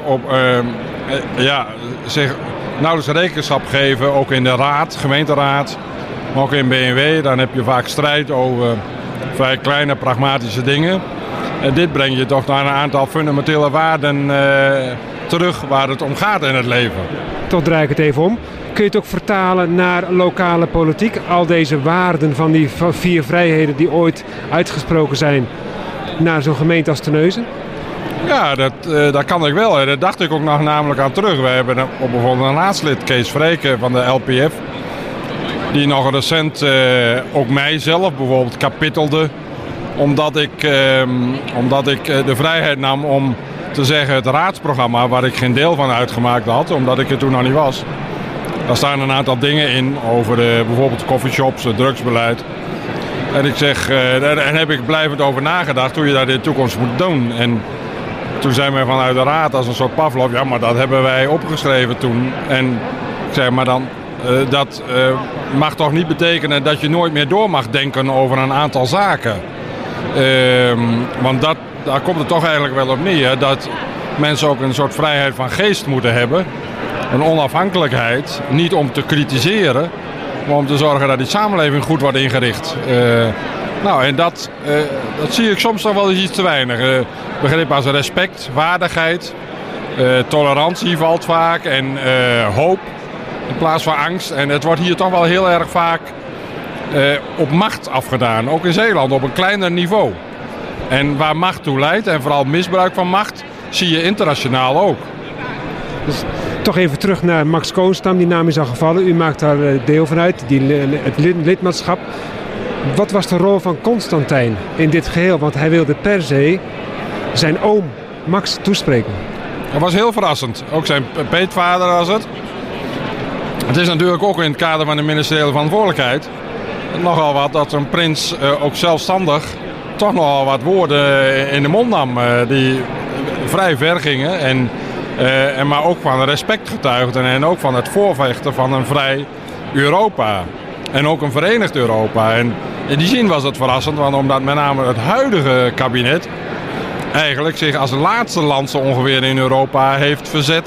zich nauwelijks rekenschap geven, ook in de raad, gemeenteraad, maar ook in BNW. Dan heb je vaak strijd over vrij kleine pragmatische dingen. En dit brengt je toch naar een aantal fundamentele waarden terug waar het om gaat in het leven. Toch draai ik het even om. Kun je het ook vertalen naar lokale politiek? Al deze waarden van die 4 vrijheden die ooit uitgesproken zijn naar zo'n gemeente als Terneuzen? Ja, dat kan ik wel. Dat dacht ik ook nog namelijk aan terug. We hebben op bijvoorbeeld een raadslid, Kees Vreken van de LPF, die nog recent ook mijzelf bijvoorbeeld kapittelde, omdat ik de vrijheid nam om te zeggen het raadsprogramma, waar ik geen deel van uitgemaakt had, omdat ik er toen nog niet was. Daar staan een aantal dingen in over bijvoorbeeld coffeeshops, het drugsbeleid. En ik zeg, en heb ik blijvend over nagedacht hoe je dat in de toekomst moet doen. En toen zei men vanuit de raad als een soort Pavlov, ja, maar dat hebben wij opgeschreven toen. En ik zei, maar dan, dat mag toch niet betekenen dat je nooit meer door mag denken over een aantal zaken. Want daar komt het toch eigenlijk wel op neer, dat mensen ook een soort vrijheid van geest moeten hebben. Een onafhankelijkheid, niet om te kritiseren, maar om te zorgen dat die samenleving goed wordt ingericht. En dat zie ik soms nog wel eens iets te weinig. Begrip als respect, waardigheid, tolerantie valt vaak en hoop in plaats van angst. En het wordt hier toch wel heel erg vaak op macht afgedaan, ook in Zeeland op een kleiner niveau. En waar macht toe leidt en vooral misbruik van macht zie je internationaal ook. Dus toch even terug naar Max Koonstam, die naam is al gevallen. U maakt daar deel van uit, het lidmaatschap. Wat was de rol van Constantijn in dit geheel? Want hij wilde per se zijn oom Max toespreken. Dat was heel verrassend. Ook zijn peetvader was het. Het is natuurlijk ook in het kader van de ministeriële verantwoordelijkheid nogal wat dat een prins ook zelfstandig toch nogal wat woorden in de mond nam die vrij ver gingen. Maar ook van respect getuigden en ook van het voorvechten van een vrij Europa. En ook een verenigd Europa. En in die zin was het verrassend, want omdat met name het huidige kabinet eigenlijk zich als laatste land zo ongeveer in Europa heeft verzet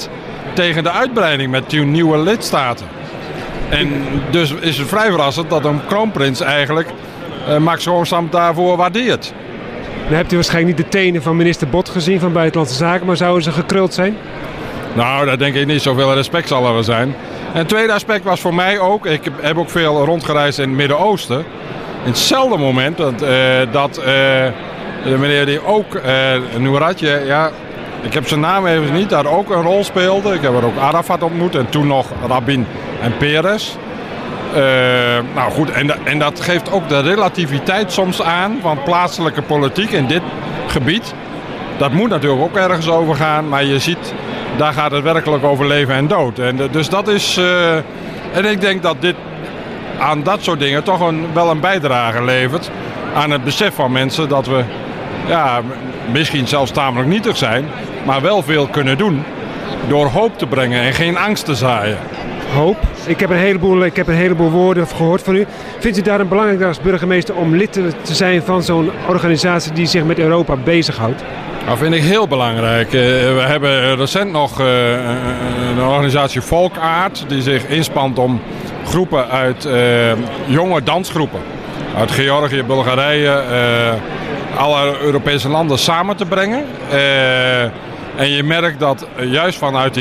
tegen de uitbreiding met 10 nieuwe lidstaten. En dus is het vrij verrassend dat een kroonprins eigenlijk Max Roostam daarvoor waardeert. Dan hebt u waarschijnlijk niet de tenen van minister Bot gezien van Buitenlandse Zaken, maar zouden ze gekruld zijn? Nou, daar denk ik niet. Zoveel respect zal er wel zijn. En het tweede aspect was voor mij ook, ik heb ook veel rondgereisd in het Midden-Oosten. In hetzelfde moment dat de meneer die ook, Nouradje, ja, ik heb zijn naam even niet, daar ook een rol speelde. Ik heb er ook Arafat ontmoet en toen nog Rabin en Peres. Nou goed, en dat geeft ook de relativiteit soms aan van plaatselijke politiek in dit gebied. Dat moet natuurlijk ook ergens over gaan, maar je ziet, daar gaat het werkelijk over leven en dood. En dus dat is, en ik denk dat dit aan dat soort dingen toch wel een bijdrage levert aan het besef van mensen dat we, ja, misschien zelfs tamelijk nietig zijn, maar wel veel kunnen doen door hoop te brengen en geen angst te zaaien. Hoop. Ik heb een heleboel woorden gehoord van u. Vindt u daarom belangrijk als burgemeester om lid te zijn van zo'n organisatie die zich met Europa bezighoudt? Dat vind ik heel belangrijk. We hebben recent nog een organisatie Volkaard die zich inspant om groepen uit jonge dansgroepen uit Georgië, Bulgarije, alle Europese landen samen te brengen. En je merkt dat juist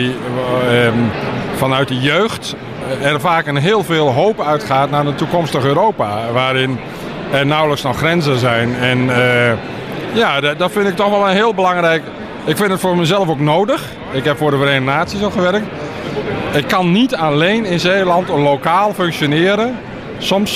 vanuit die jeugd er vaak een heel veel hoop uitgaat naar een toekomstig Europa, waarin er nauwelijks nog grenzen zijn. En ja, dat vind ik toch wel een heel belangrijk. Ik vind het voor mezelf ook nodig. Ik heb voor de Verenigde Naties ook gewerkt. Ik kan niet alleen in Zeeland lokaal functioneren. Soms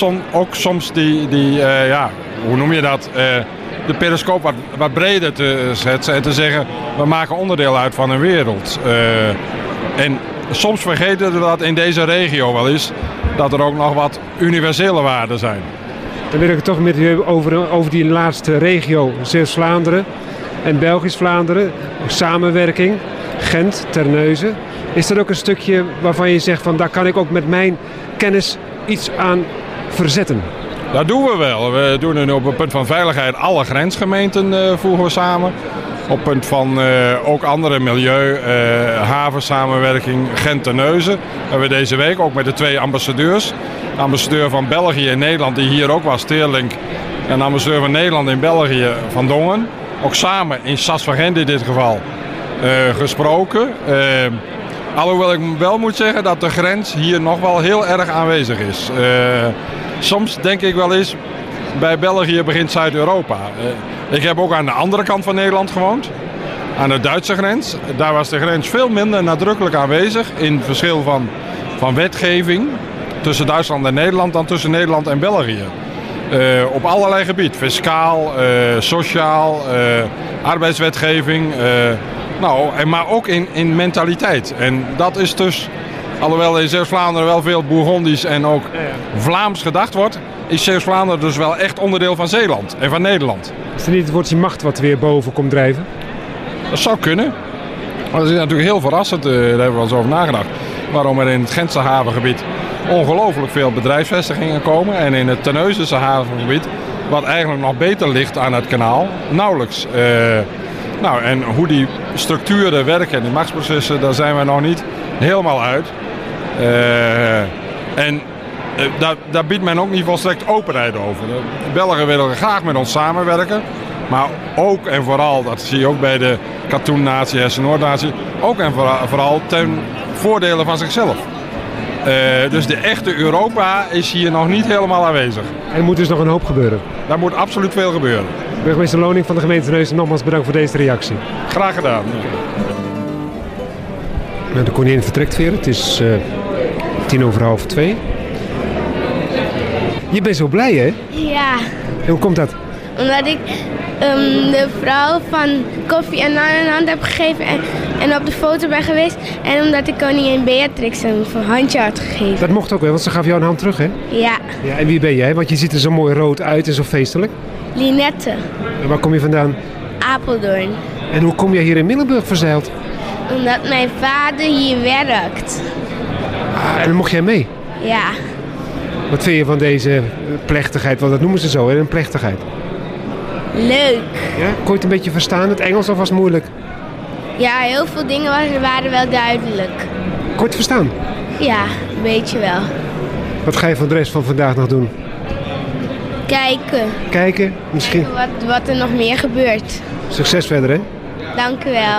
ja, hoe noem je dat? De periscoop wat breder te schetsen en te zeggen, we maken onderdeel uit van een wereld. En soms vergeten we dat in deze regio wel eens, dat er ook nog wat universele waarden zijn. Dan wil ik het toch met u over die laatste regio, Zeeuws-Vlaanderen en Belgisch-Vlaanderen. Samenwerking, Gent, Terneuzen. Is er ook een stukje waarvan je zegt van daar kan ik ook met mijn kennis iets aan verzetten? Dat doen we wel. We doen nu op het punt van veiligheid alle grensgemeenten voegen we samen. Op het punt van ook andere milieu, havensamenwerking, Gent-Terneuzen. Hebben we deze week ook met de 2 ambassadeurs. De ambassadeur van België in Nederland, die hier ook was, Teerlink. En de ambassadeur van Nederland in België, Van Dongen. Ook samen in Sas van Gent in dit geval gesproken. Alhoewel ik wel moet zeggen dat de grens hier nog wel heel erg aanwezig is. Soms denk ik wel eens, bij België begint Zuid-Europa. Ik heb ook aan de andere kant van Nederland gewoond. Aan de Duitse grens. Daar was de grens veel minder nadrukkelijk aanwezig. In verschil van wetgeving tussen Duitsland en Nederland dan tussen Nederland en België. Op allerlei gebieden. Fiscaal, sociaal, arbeidswetgeving. Maar ook in mentaliteit. En dat is dus, alhoewel in Zeeuws-Vlaanderen wel veel Bourgondisch en ook Vlaams gedacht wordt, is Zeeuws-Vlaanderen dus wel echt onderdeel van Zeeland en van Nederland. Is er niet het woordje macht wat weer boven komt drijven? Dat zou kunnen. Maar dat is natuurlijk heel verrassend, daar hebben we wel eens over nagedacht. Waarom er in het Gentse havengebied ongelooflijk veel bedrijfsvestigingen komen. En in het Terneuzense havengebied, wat eigenlijk nog beter ligt aan het kanaal, nauwelijks. En hoe die structuren werken en die machtsprocessen, daar zijn we nog niet helemaal uit. Daar biedt men ook niet volstrekt openheid over. De Belgen willen graag met ons samenwerken. Maar ook en vooral, dat zie je ook bij de Katoen-natie, Hessen-Noord-natie, ook en vooral ten voordele van zichzelf. Dus de echte Europa is hier nog niet helemaal aanwezig. Er moet dus nog een hoop gebeuren? Daar moet absoluut veel gebeuren. Burgemeester Loning van de gemeente Terneuzen, nogmaals bedankt voor deze reactie. Graag gedaan. De koningin vertrekt weer. Het is 2:10. Je bent zo blij, hè? Ja. En hoe komt dat? Omdat ik de vrouw van koffie en naan in hand heb gegeven en op de foto ben geweest. En omdat ik koningin Beatrix een handje had gegeven. Dat mocht ook wel, want ze gaf jou een hand terug, hè? Ja. Ja. En wie ben jij? Want je ziet er zo mooi rood uit en zo feestelijk. Linette. En waar kom je vandaan? Apeldoorn. En hoe kom jij hier in Middelburg verzeild? Omdat mijn vader hier werkt. Ah, en dan mocht jij mee? Ja. Wat vind je van deze plechtigheid? Want dat noemen ze zo, hè? Een plechtigheid. Leuk. Ja? Kon je het een beetje verstaan, het Engels, of was het moeilijk? Ja, heel veel dingen waren wel duidelijk. Kort verstaan? Ja, een beetje wel. Wat ga je voor de rest van vandaag nog doen? Kijken. Kijken, misschien? Kijken wat er nog meer gebeurt. Succes verder, hè? Dank u wel.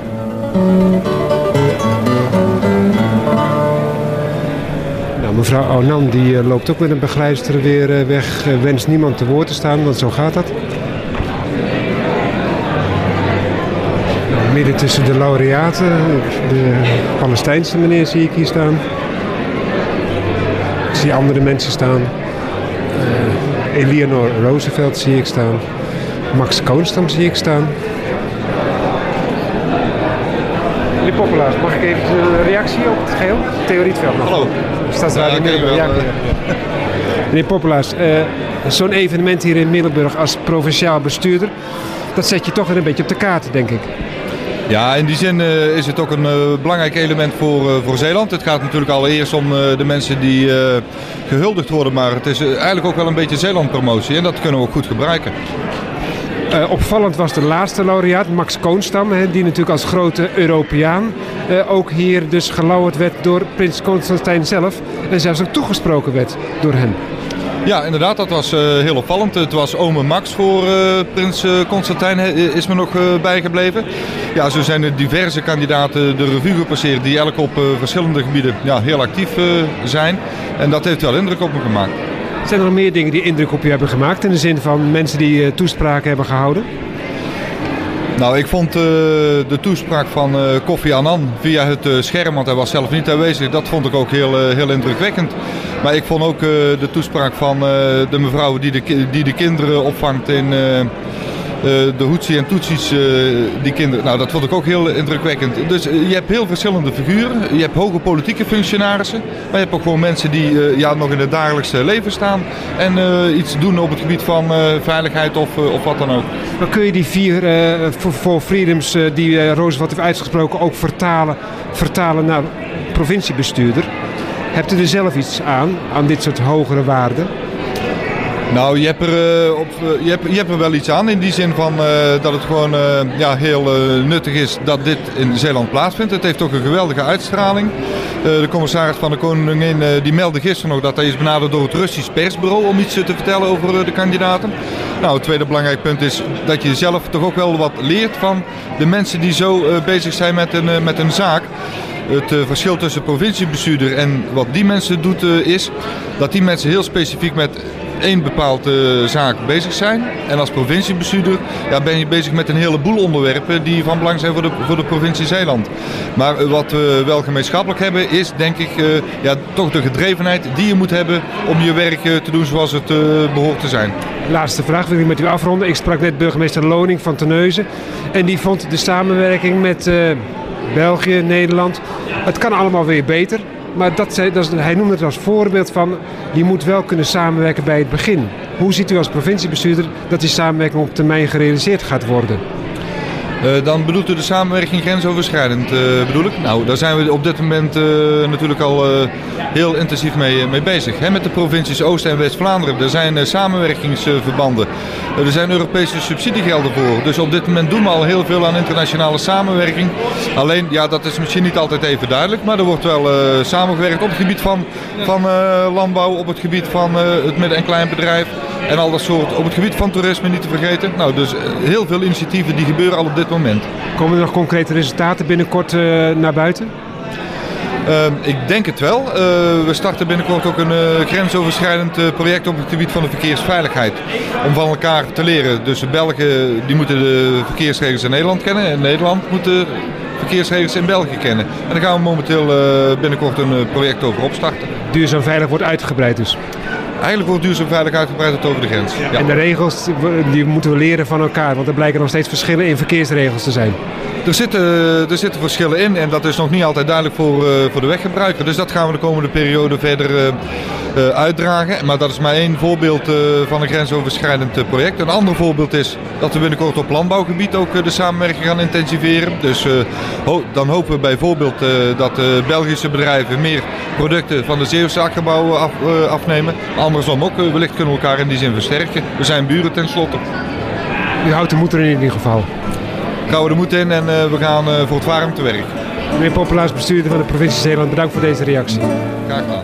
Nou, mevrouw Onan die loopt ook met een begeleidster weer weg. Wenst niemand te woord te staan, want zo gaat dat. Nou, midden tussen de laureaten, de Palestijnse meneer zie ik hier staan. Ik zie andere mensen staan. Eleanor Roosevelt zie ik staan. Max Koonstam zie ik staan. Meneer Poppelaars, mag ik even een reactie op het geheel? Theo Rietveld nog. Hallo. Stadsraad in Middelburg. Meneer Poppelaars, zo'n evenement hier in Middelburg als provinciaal bestuurder, dat zet je toch weer een beetje op de kaart, denk ik. Ja, in die zin is het ook een belangrijk element voor Zeeland. Het gaat natuurlijk allereerst om de mensen die gehuldigd worden, maar het is eigenlijk ook wel een beetje Zeeland-promotie en dat kunnen we ook goed gebruiken. Opvallend was de laatste laureaat, Max Koonstam, die natuurlijk als grote Europeaan ook hier dus gelauwerd werd door prins Constantijn zelf en zelfs ook toegesproken werd door hem. Ja, inderdaad, dat was heel opvallend. Het was ome Max voor prins Constantijn, is me nog bijgebleven. Ja, zo zijn er diverse kandidaten de revue gepasseerd die elk op verschillende gebieden heel actief zijn. En dat heeft wel indruk op me gemaakt. Zijn er nog meer dingen die indruk op je hebben gemaakt in de zin van mensen die toespraken hebben gehouden? Nou, ik vond de toespraak van Kofi Annan via het scherm, want hij was zelf niet aanwezig, dat vond ik ook heel indrukwekkend. Maar ik vond ook de toespraak van de mevrouw die de kinderen opvangt in de Hutsi en Tutsis, die kinderen. Nou, dat vond ik ook heel indrukwekkend. Dus je hebt heel verschillende figuren. Je hebt hoge politieke functionarissen, maar je hebt ook gewoon mensen die nog in het dagelijkse leven staan en iets doen op het gebied van veiligheid of wat dan ook. Maar kun je die 4 for freedoms die Roosevelt heeft uitgesproken ook vertalen naar provinciebestuurder? Hebt u er zelf iets aan dit soort hogere waarden? Nou, je hebt er wel iets aan in die zin van dat het gewoon heel nuttig is dat dit in Zeeland plaatsvindt. Het heeft ook een geweldige uitstraling. De commissaris van de Koningin die meldde gisteren nog dat hij is benaderd door het Russisch persbureau om iets te vertellen over de kandidaten. Nou, het tweede belangrijk punt is dat je zelf toch ook wel wat leert van de mensen die zo bezig zijn met een zaak. Het verschil tussen provinciebestuurder en wat die mensen doet is dat die mensen heel specifiek met één bepaalde zaak bezig zijn. En als provinciebestuurder ben je bezig met een heleboel onderwerpen die van belang zijn voor de provincie Zeeland. Maar wat we wel gemeenschappelijk hebben is denk ik toch de gedrevenheid die je moet hebben om je werk te doen zoals het behoort te zijn. Laatste vraag wil ik met u afronden. Ik sprak net burgemeester Loning van Terneuzen en die vond de samenwerking met België, Nederland, het kan allemaal weer beter. Maar hij noemde het als voorbeeld van, je moet wel kunnen samenwerken bij het begin. Hoe ziet u als provinciebestuurder dat die samenwerking op termijn gerealiseerd gaat worden? Dan bedoelt u de samenwerking grensoverschrijdend, bedoel ik? Nou, daar zijn we op dit moment natuurlijk al heel intensief mee bezig. Met de provincies Oost- en West-Vlaanderen. Er zijn samenwerkingsverbanden. Er zijn Europese subsidiegelden voor. Dus op dit moment doen we al heel veel aan internationale samenwerking. Alleen, dat is misschien niet altijd even duidelijk. Maar er wordt wel samengewerkt op het gebied van landbouw, op het gebied van het midden- en kleinbedrijf. En al dat soort, op het gebied van toerisme niet te vergeten. Nou, dus heel veel initiatieven die gebeuren al op dit moment. Komen er nog concrete resultaten binnenkort naar buiten? Ik denk het wel. We starten binnenkort ook een grensoverschrijdend project op het gebied van de verkeersveiligheid. Om van elkaar te leren. Dus de Belgen die moeten de verkeersregels in Nederland kennen. En Nederland moet de verkeersregels in België kennen. En daar gaan we momenteel binnenkort een project over opstarten. Duurzaam veilig wordt uitgebreid dus? Eigenlijk wordt duurzaam veilig uitgebreid tot over de grens. Ja. En de regels die moeten we leren van elkaar, want er blijken nog steeds verschillen in verkeersregels te zijn. Er zitten verschillen in en dat is nog niet altijd duidelijk voor de weggebruiker. Dus dat gaan we de komende periode verder uitdragen. Maar dat is maar één voorbeeld van een grensoverschrijdend project. Een ander voorbeeld is dat we binnenkort op landbouwgebied ook de samenwerking gaan intensiveren. Dus dan hopen we bijvoorbeeld dat Belgische bedrijven meer producten van de Zeeuwse akkerbouw afnemen. Andersom ook, wellicht kunnen we elkaar in die zin versterken. We zijn buren tenslotte. U houdt de moed erin in ieder geval. Gauw de moed in en we gaan voor het warm te werk. Meneer Popelaars, bestuurder van de provincie Zeeland, bedankt voor deze reactie. Graag gedaan.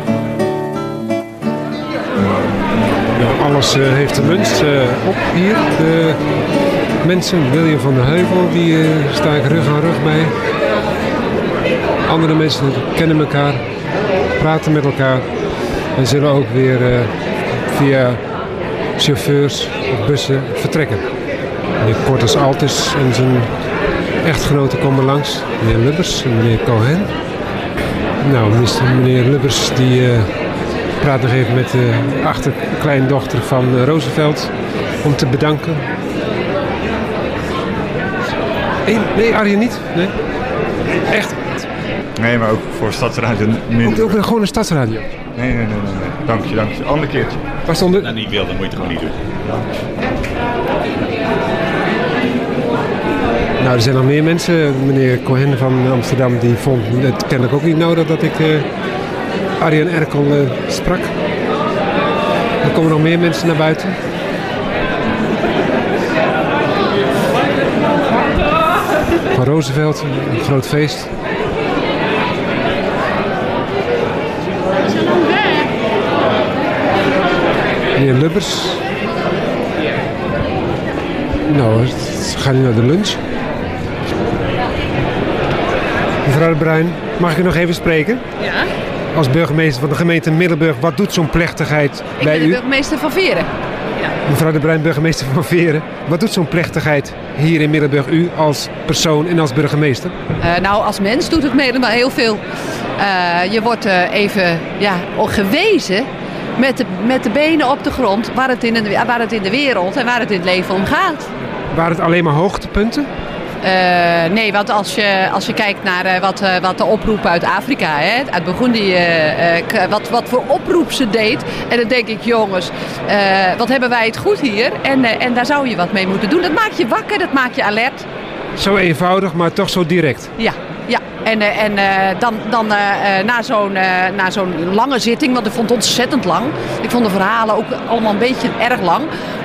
Nou, alles heeft een lunch op hier. De mensen, William van der Heuvel, die sta ik rug aan rug bij. Andere mensen kennen elkaar, praten met elkaar en zullen ook weer via chauffeurs of bussen vertrekken. Meneer Cortes Altes en zijn echtgenoten komen langs. Meneer Lubbers en meneer Cohen. Nou, meneer Lubbers die praat nog even met de achterkleindochter van Roosevelt om te bedanken. Nee, Arjen niet? Nee? Echt? Nee, maar ook voor Stadsradio. Ook gewoon een Stadsradio? Nee. Dank je. Ander keertje. Waar stond het? Nou, niet wil, dan moet je het gewoon niet doen. Nou, er zijn nog meer mensen. Meneer Cohen van Amsterdam die vond het kennelijk ook niet nodig dat ik Arjen Erkel sprak. Er komen nog meer mensen naar buiten. Van Roosevelt, een groot feest. Meneer Lubbers. Nou, we gaan nu naar de lunch. Mevrouw de Bruin, mag ik u nog even spreken? Ja. Als burgemeester van de gemeente Middelburg, wat doet zo'n plechtigheid bij u? Ik ben de burgemeester van Veren. Ja. Mevrouw de Bruin, burgemeester van Veren. Wat doet zo'n plechtigheid hier in Middelburg, u als persoon en als burgemeester? Nou, als mens doet het Middelburg heel veel. Je wordt even gewezen met de benen op de grond waar het in de wereld en waar het in het leven om gaat. Waren het alleen maar hoogtepunten? Nee, want als je kijkt naar wat de oproep uit Afrika, uit Burundi, wat voor oproep ze deed. En dan denk ik, jongens, wat hebben wij het goed hier? En daar zou je wat mee moeten doen. Dat maakt je wakker, dat maakt je alert. Zo eenvoudig, maar toch zo direct. Ja. En dan na zo'n lange zitting, want ik vond het ontzettend lang. Ik vond de verhalen ook allemaal een beetje erg lang.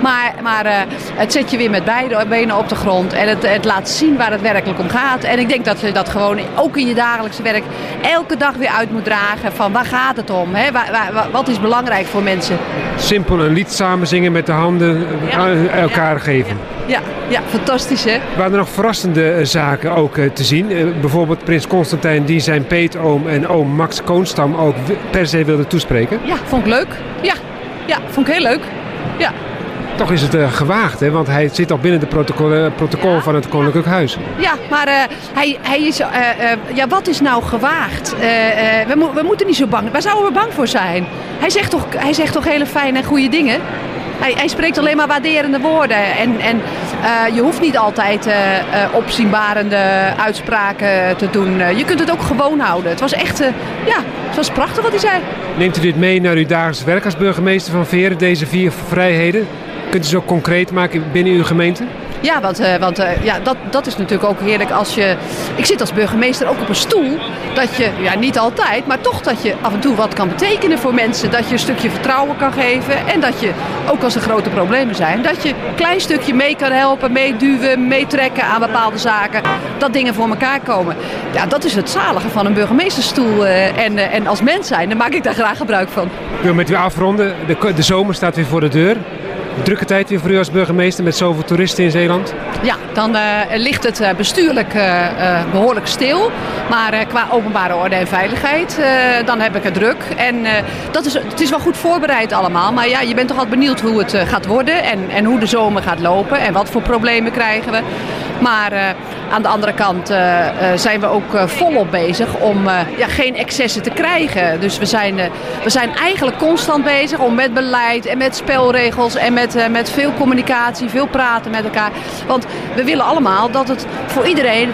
Maar het zet je weer met beide benen op de grond. En het laat zien waar het werkelijk om gaat. En ik denk dat je dat gewoon ook in je dagelijkse werk elke dag weer uit moet dragen. Van waar gaat het om? Hè? Wat is belangrijk voor mensen? Simpel een lied samen zingen met de handen aan elkaar geven. Ja, fantastisch hè. Waren er nog verrassende zaken ook te zien? Bijvoorbeeld Prins Constantijn die zijn peetoom en oom Max Koonstam ook per se wilde toespreken? Ja, vond ik leuk. Ja, vond ik heel leuk. Ja. Toch is het gewaagd, hè? Want hij zit al binnen de protocol van het Koninklijk Huis. Ja, maar hij is... wat is nou gewaagd? We moeten niet zo bang... Waar zouden we bang voor zijn? Hij zegt toch hele fijne en goede dingen? Hij spreekt alleen maar waarderende woorden. En je hoeft niet altijd opzienbarende uitspraken te doen. Je kunt het ook gewoon houden. Het was echt... het was prachtig wat hij zei. Neemt u dit mee naar uw dagelijks werk als burgemeester van Veren, deze 4 vrijheden? Kunt u ze ook concreet maken binnen uw gemeente? Ja, want dat is natuurlijk ook heerlijk als je... Ik zit als burgemeester ook op een stoel. Dat je, niet altijd, maar toch dat je af en toe wat kan betekenen voor mensen. Dat je een stukje vertrouwen kan geven. En dat je, ook als er grote problemen zijn, dat je een klein stukje mee kan helpen, meeduwen, meetrekken aan bepaalde zaken. Dat dingen voor elkaar komen. Ja, dat is het zalige van een burgemeestersstoel. En als mens zijn, dan maak ik daar graag gebruik van. Ik wil met u afronden. De zomer staat weer voor de deur. Drukke tijd weer voor u als burgemeester met zoveel toeristen in Zeeland? Ja, dan ligt het bestuurlijk behoorlijk stil. Maar qua openbare orde en veiligheid, dan heb ik het druk. En het is wel goed voorbereid allemaal. Maar ja, je bent toch altijd benieuwd hoe het gaat worden en hoe de zomer gaat lopen. En wat voor problemen krijgen we. Maar aan de andere kant zijn we ook volop bezig om geen excessen te krijgen. Dus we zijn eigenlijk constant bezig om met beleid en met spelregels en met veel communicatie, veel praten met elkaar. Want we willen allemaal dat het voor iedereen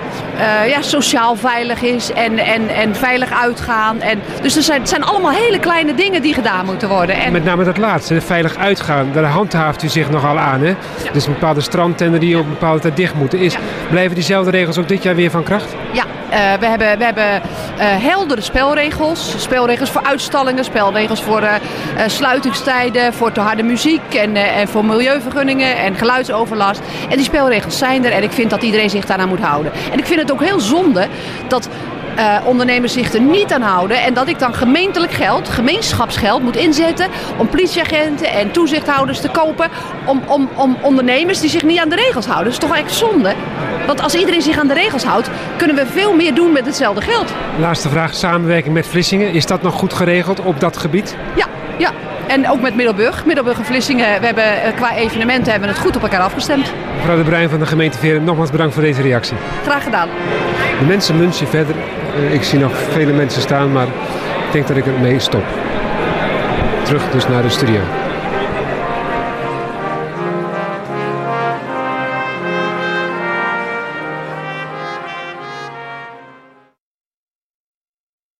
sociaal veilig is en veilig uitgaan. Dus het zijn allemaal hele kleine dingen die gedaan moeten worden. En met name dat laatste, veilig uitgaan, daar handhaaft u zich nogal aan. Hè? Ja. Dus een bepaalde strandtender die op een bepaalde tijd dicht moeten is. Ja. Blijven diezelfde regels ook dit jaar weer van kracht? Ja, we hebben heldere spelregels. Spelregels voor uitstallingen, spelregels voor sluitingstijden, voor te harde muziek en voor milieuvergunningen en geluidsoverlast. En die spelregels zijn er en ik vind dat iedereen zich daaraan moet houden. En ik vind het ook heel zonde dat ondernemers zich er niet aan houden en dat ik dan gemeentelijk geld, gemeenschapsgeld moet inzetten om politieagenten en toezichthouders te kopen om ondernemers die zich niet aan de regels houden. Dat is toch echt zonde? Want als iedereen zich aan de regels houdt, kunnen we veel meer doen met hetzelfde geld. Laatste vraag, samenwerking met Vlissingen. Is dat nog goed geregeld op dat gebied? Ja. En ook met Middelburg. Middelburg en Vlissingen, we hebben qua evenementen hebben we het goed op elkaar afgestemd. Mevrouw De Bruin van de gemeente Veeren, nogmaals bedankt voor deze reactie. Graag gedaan. De mensen lunchen verder. Ik zie nog vele mensen staan, maar ik denk dat ik ermee stop. Terug dus naar de studio.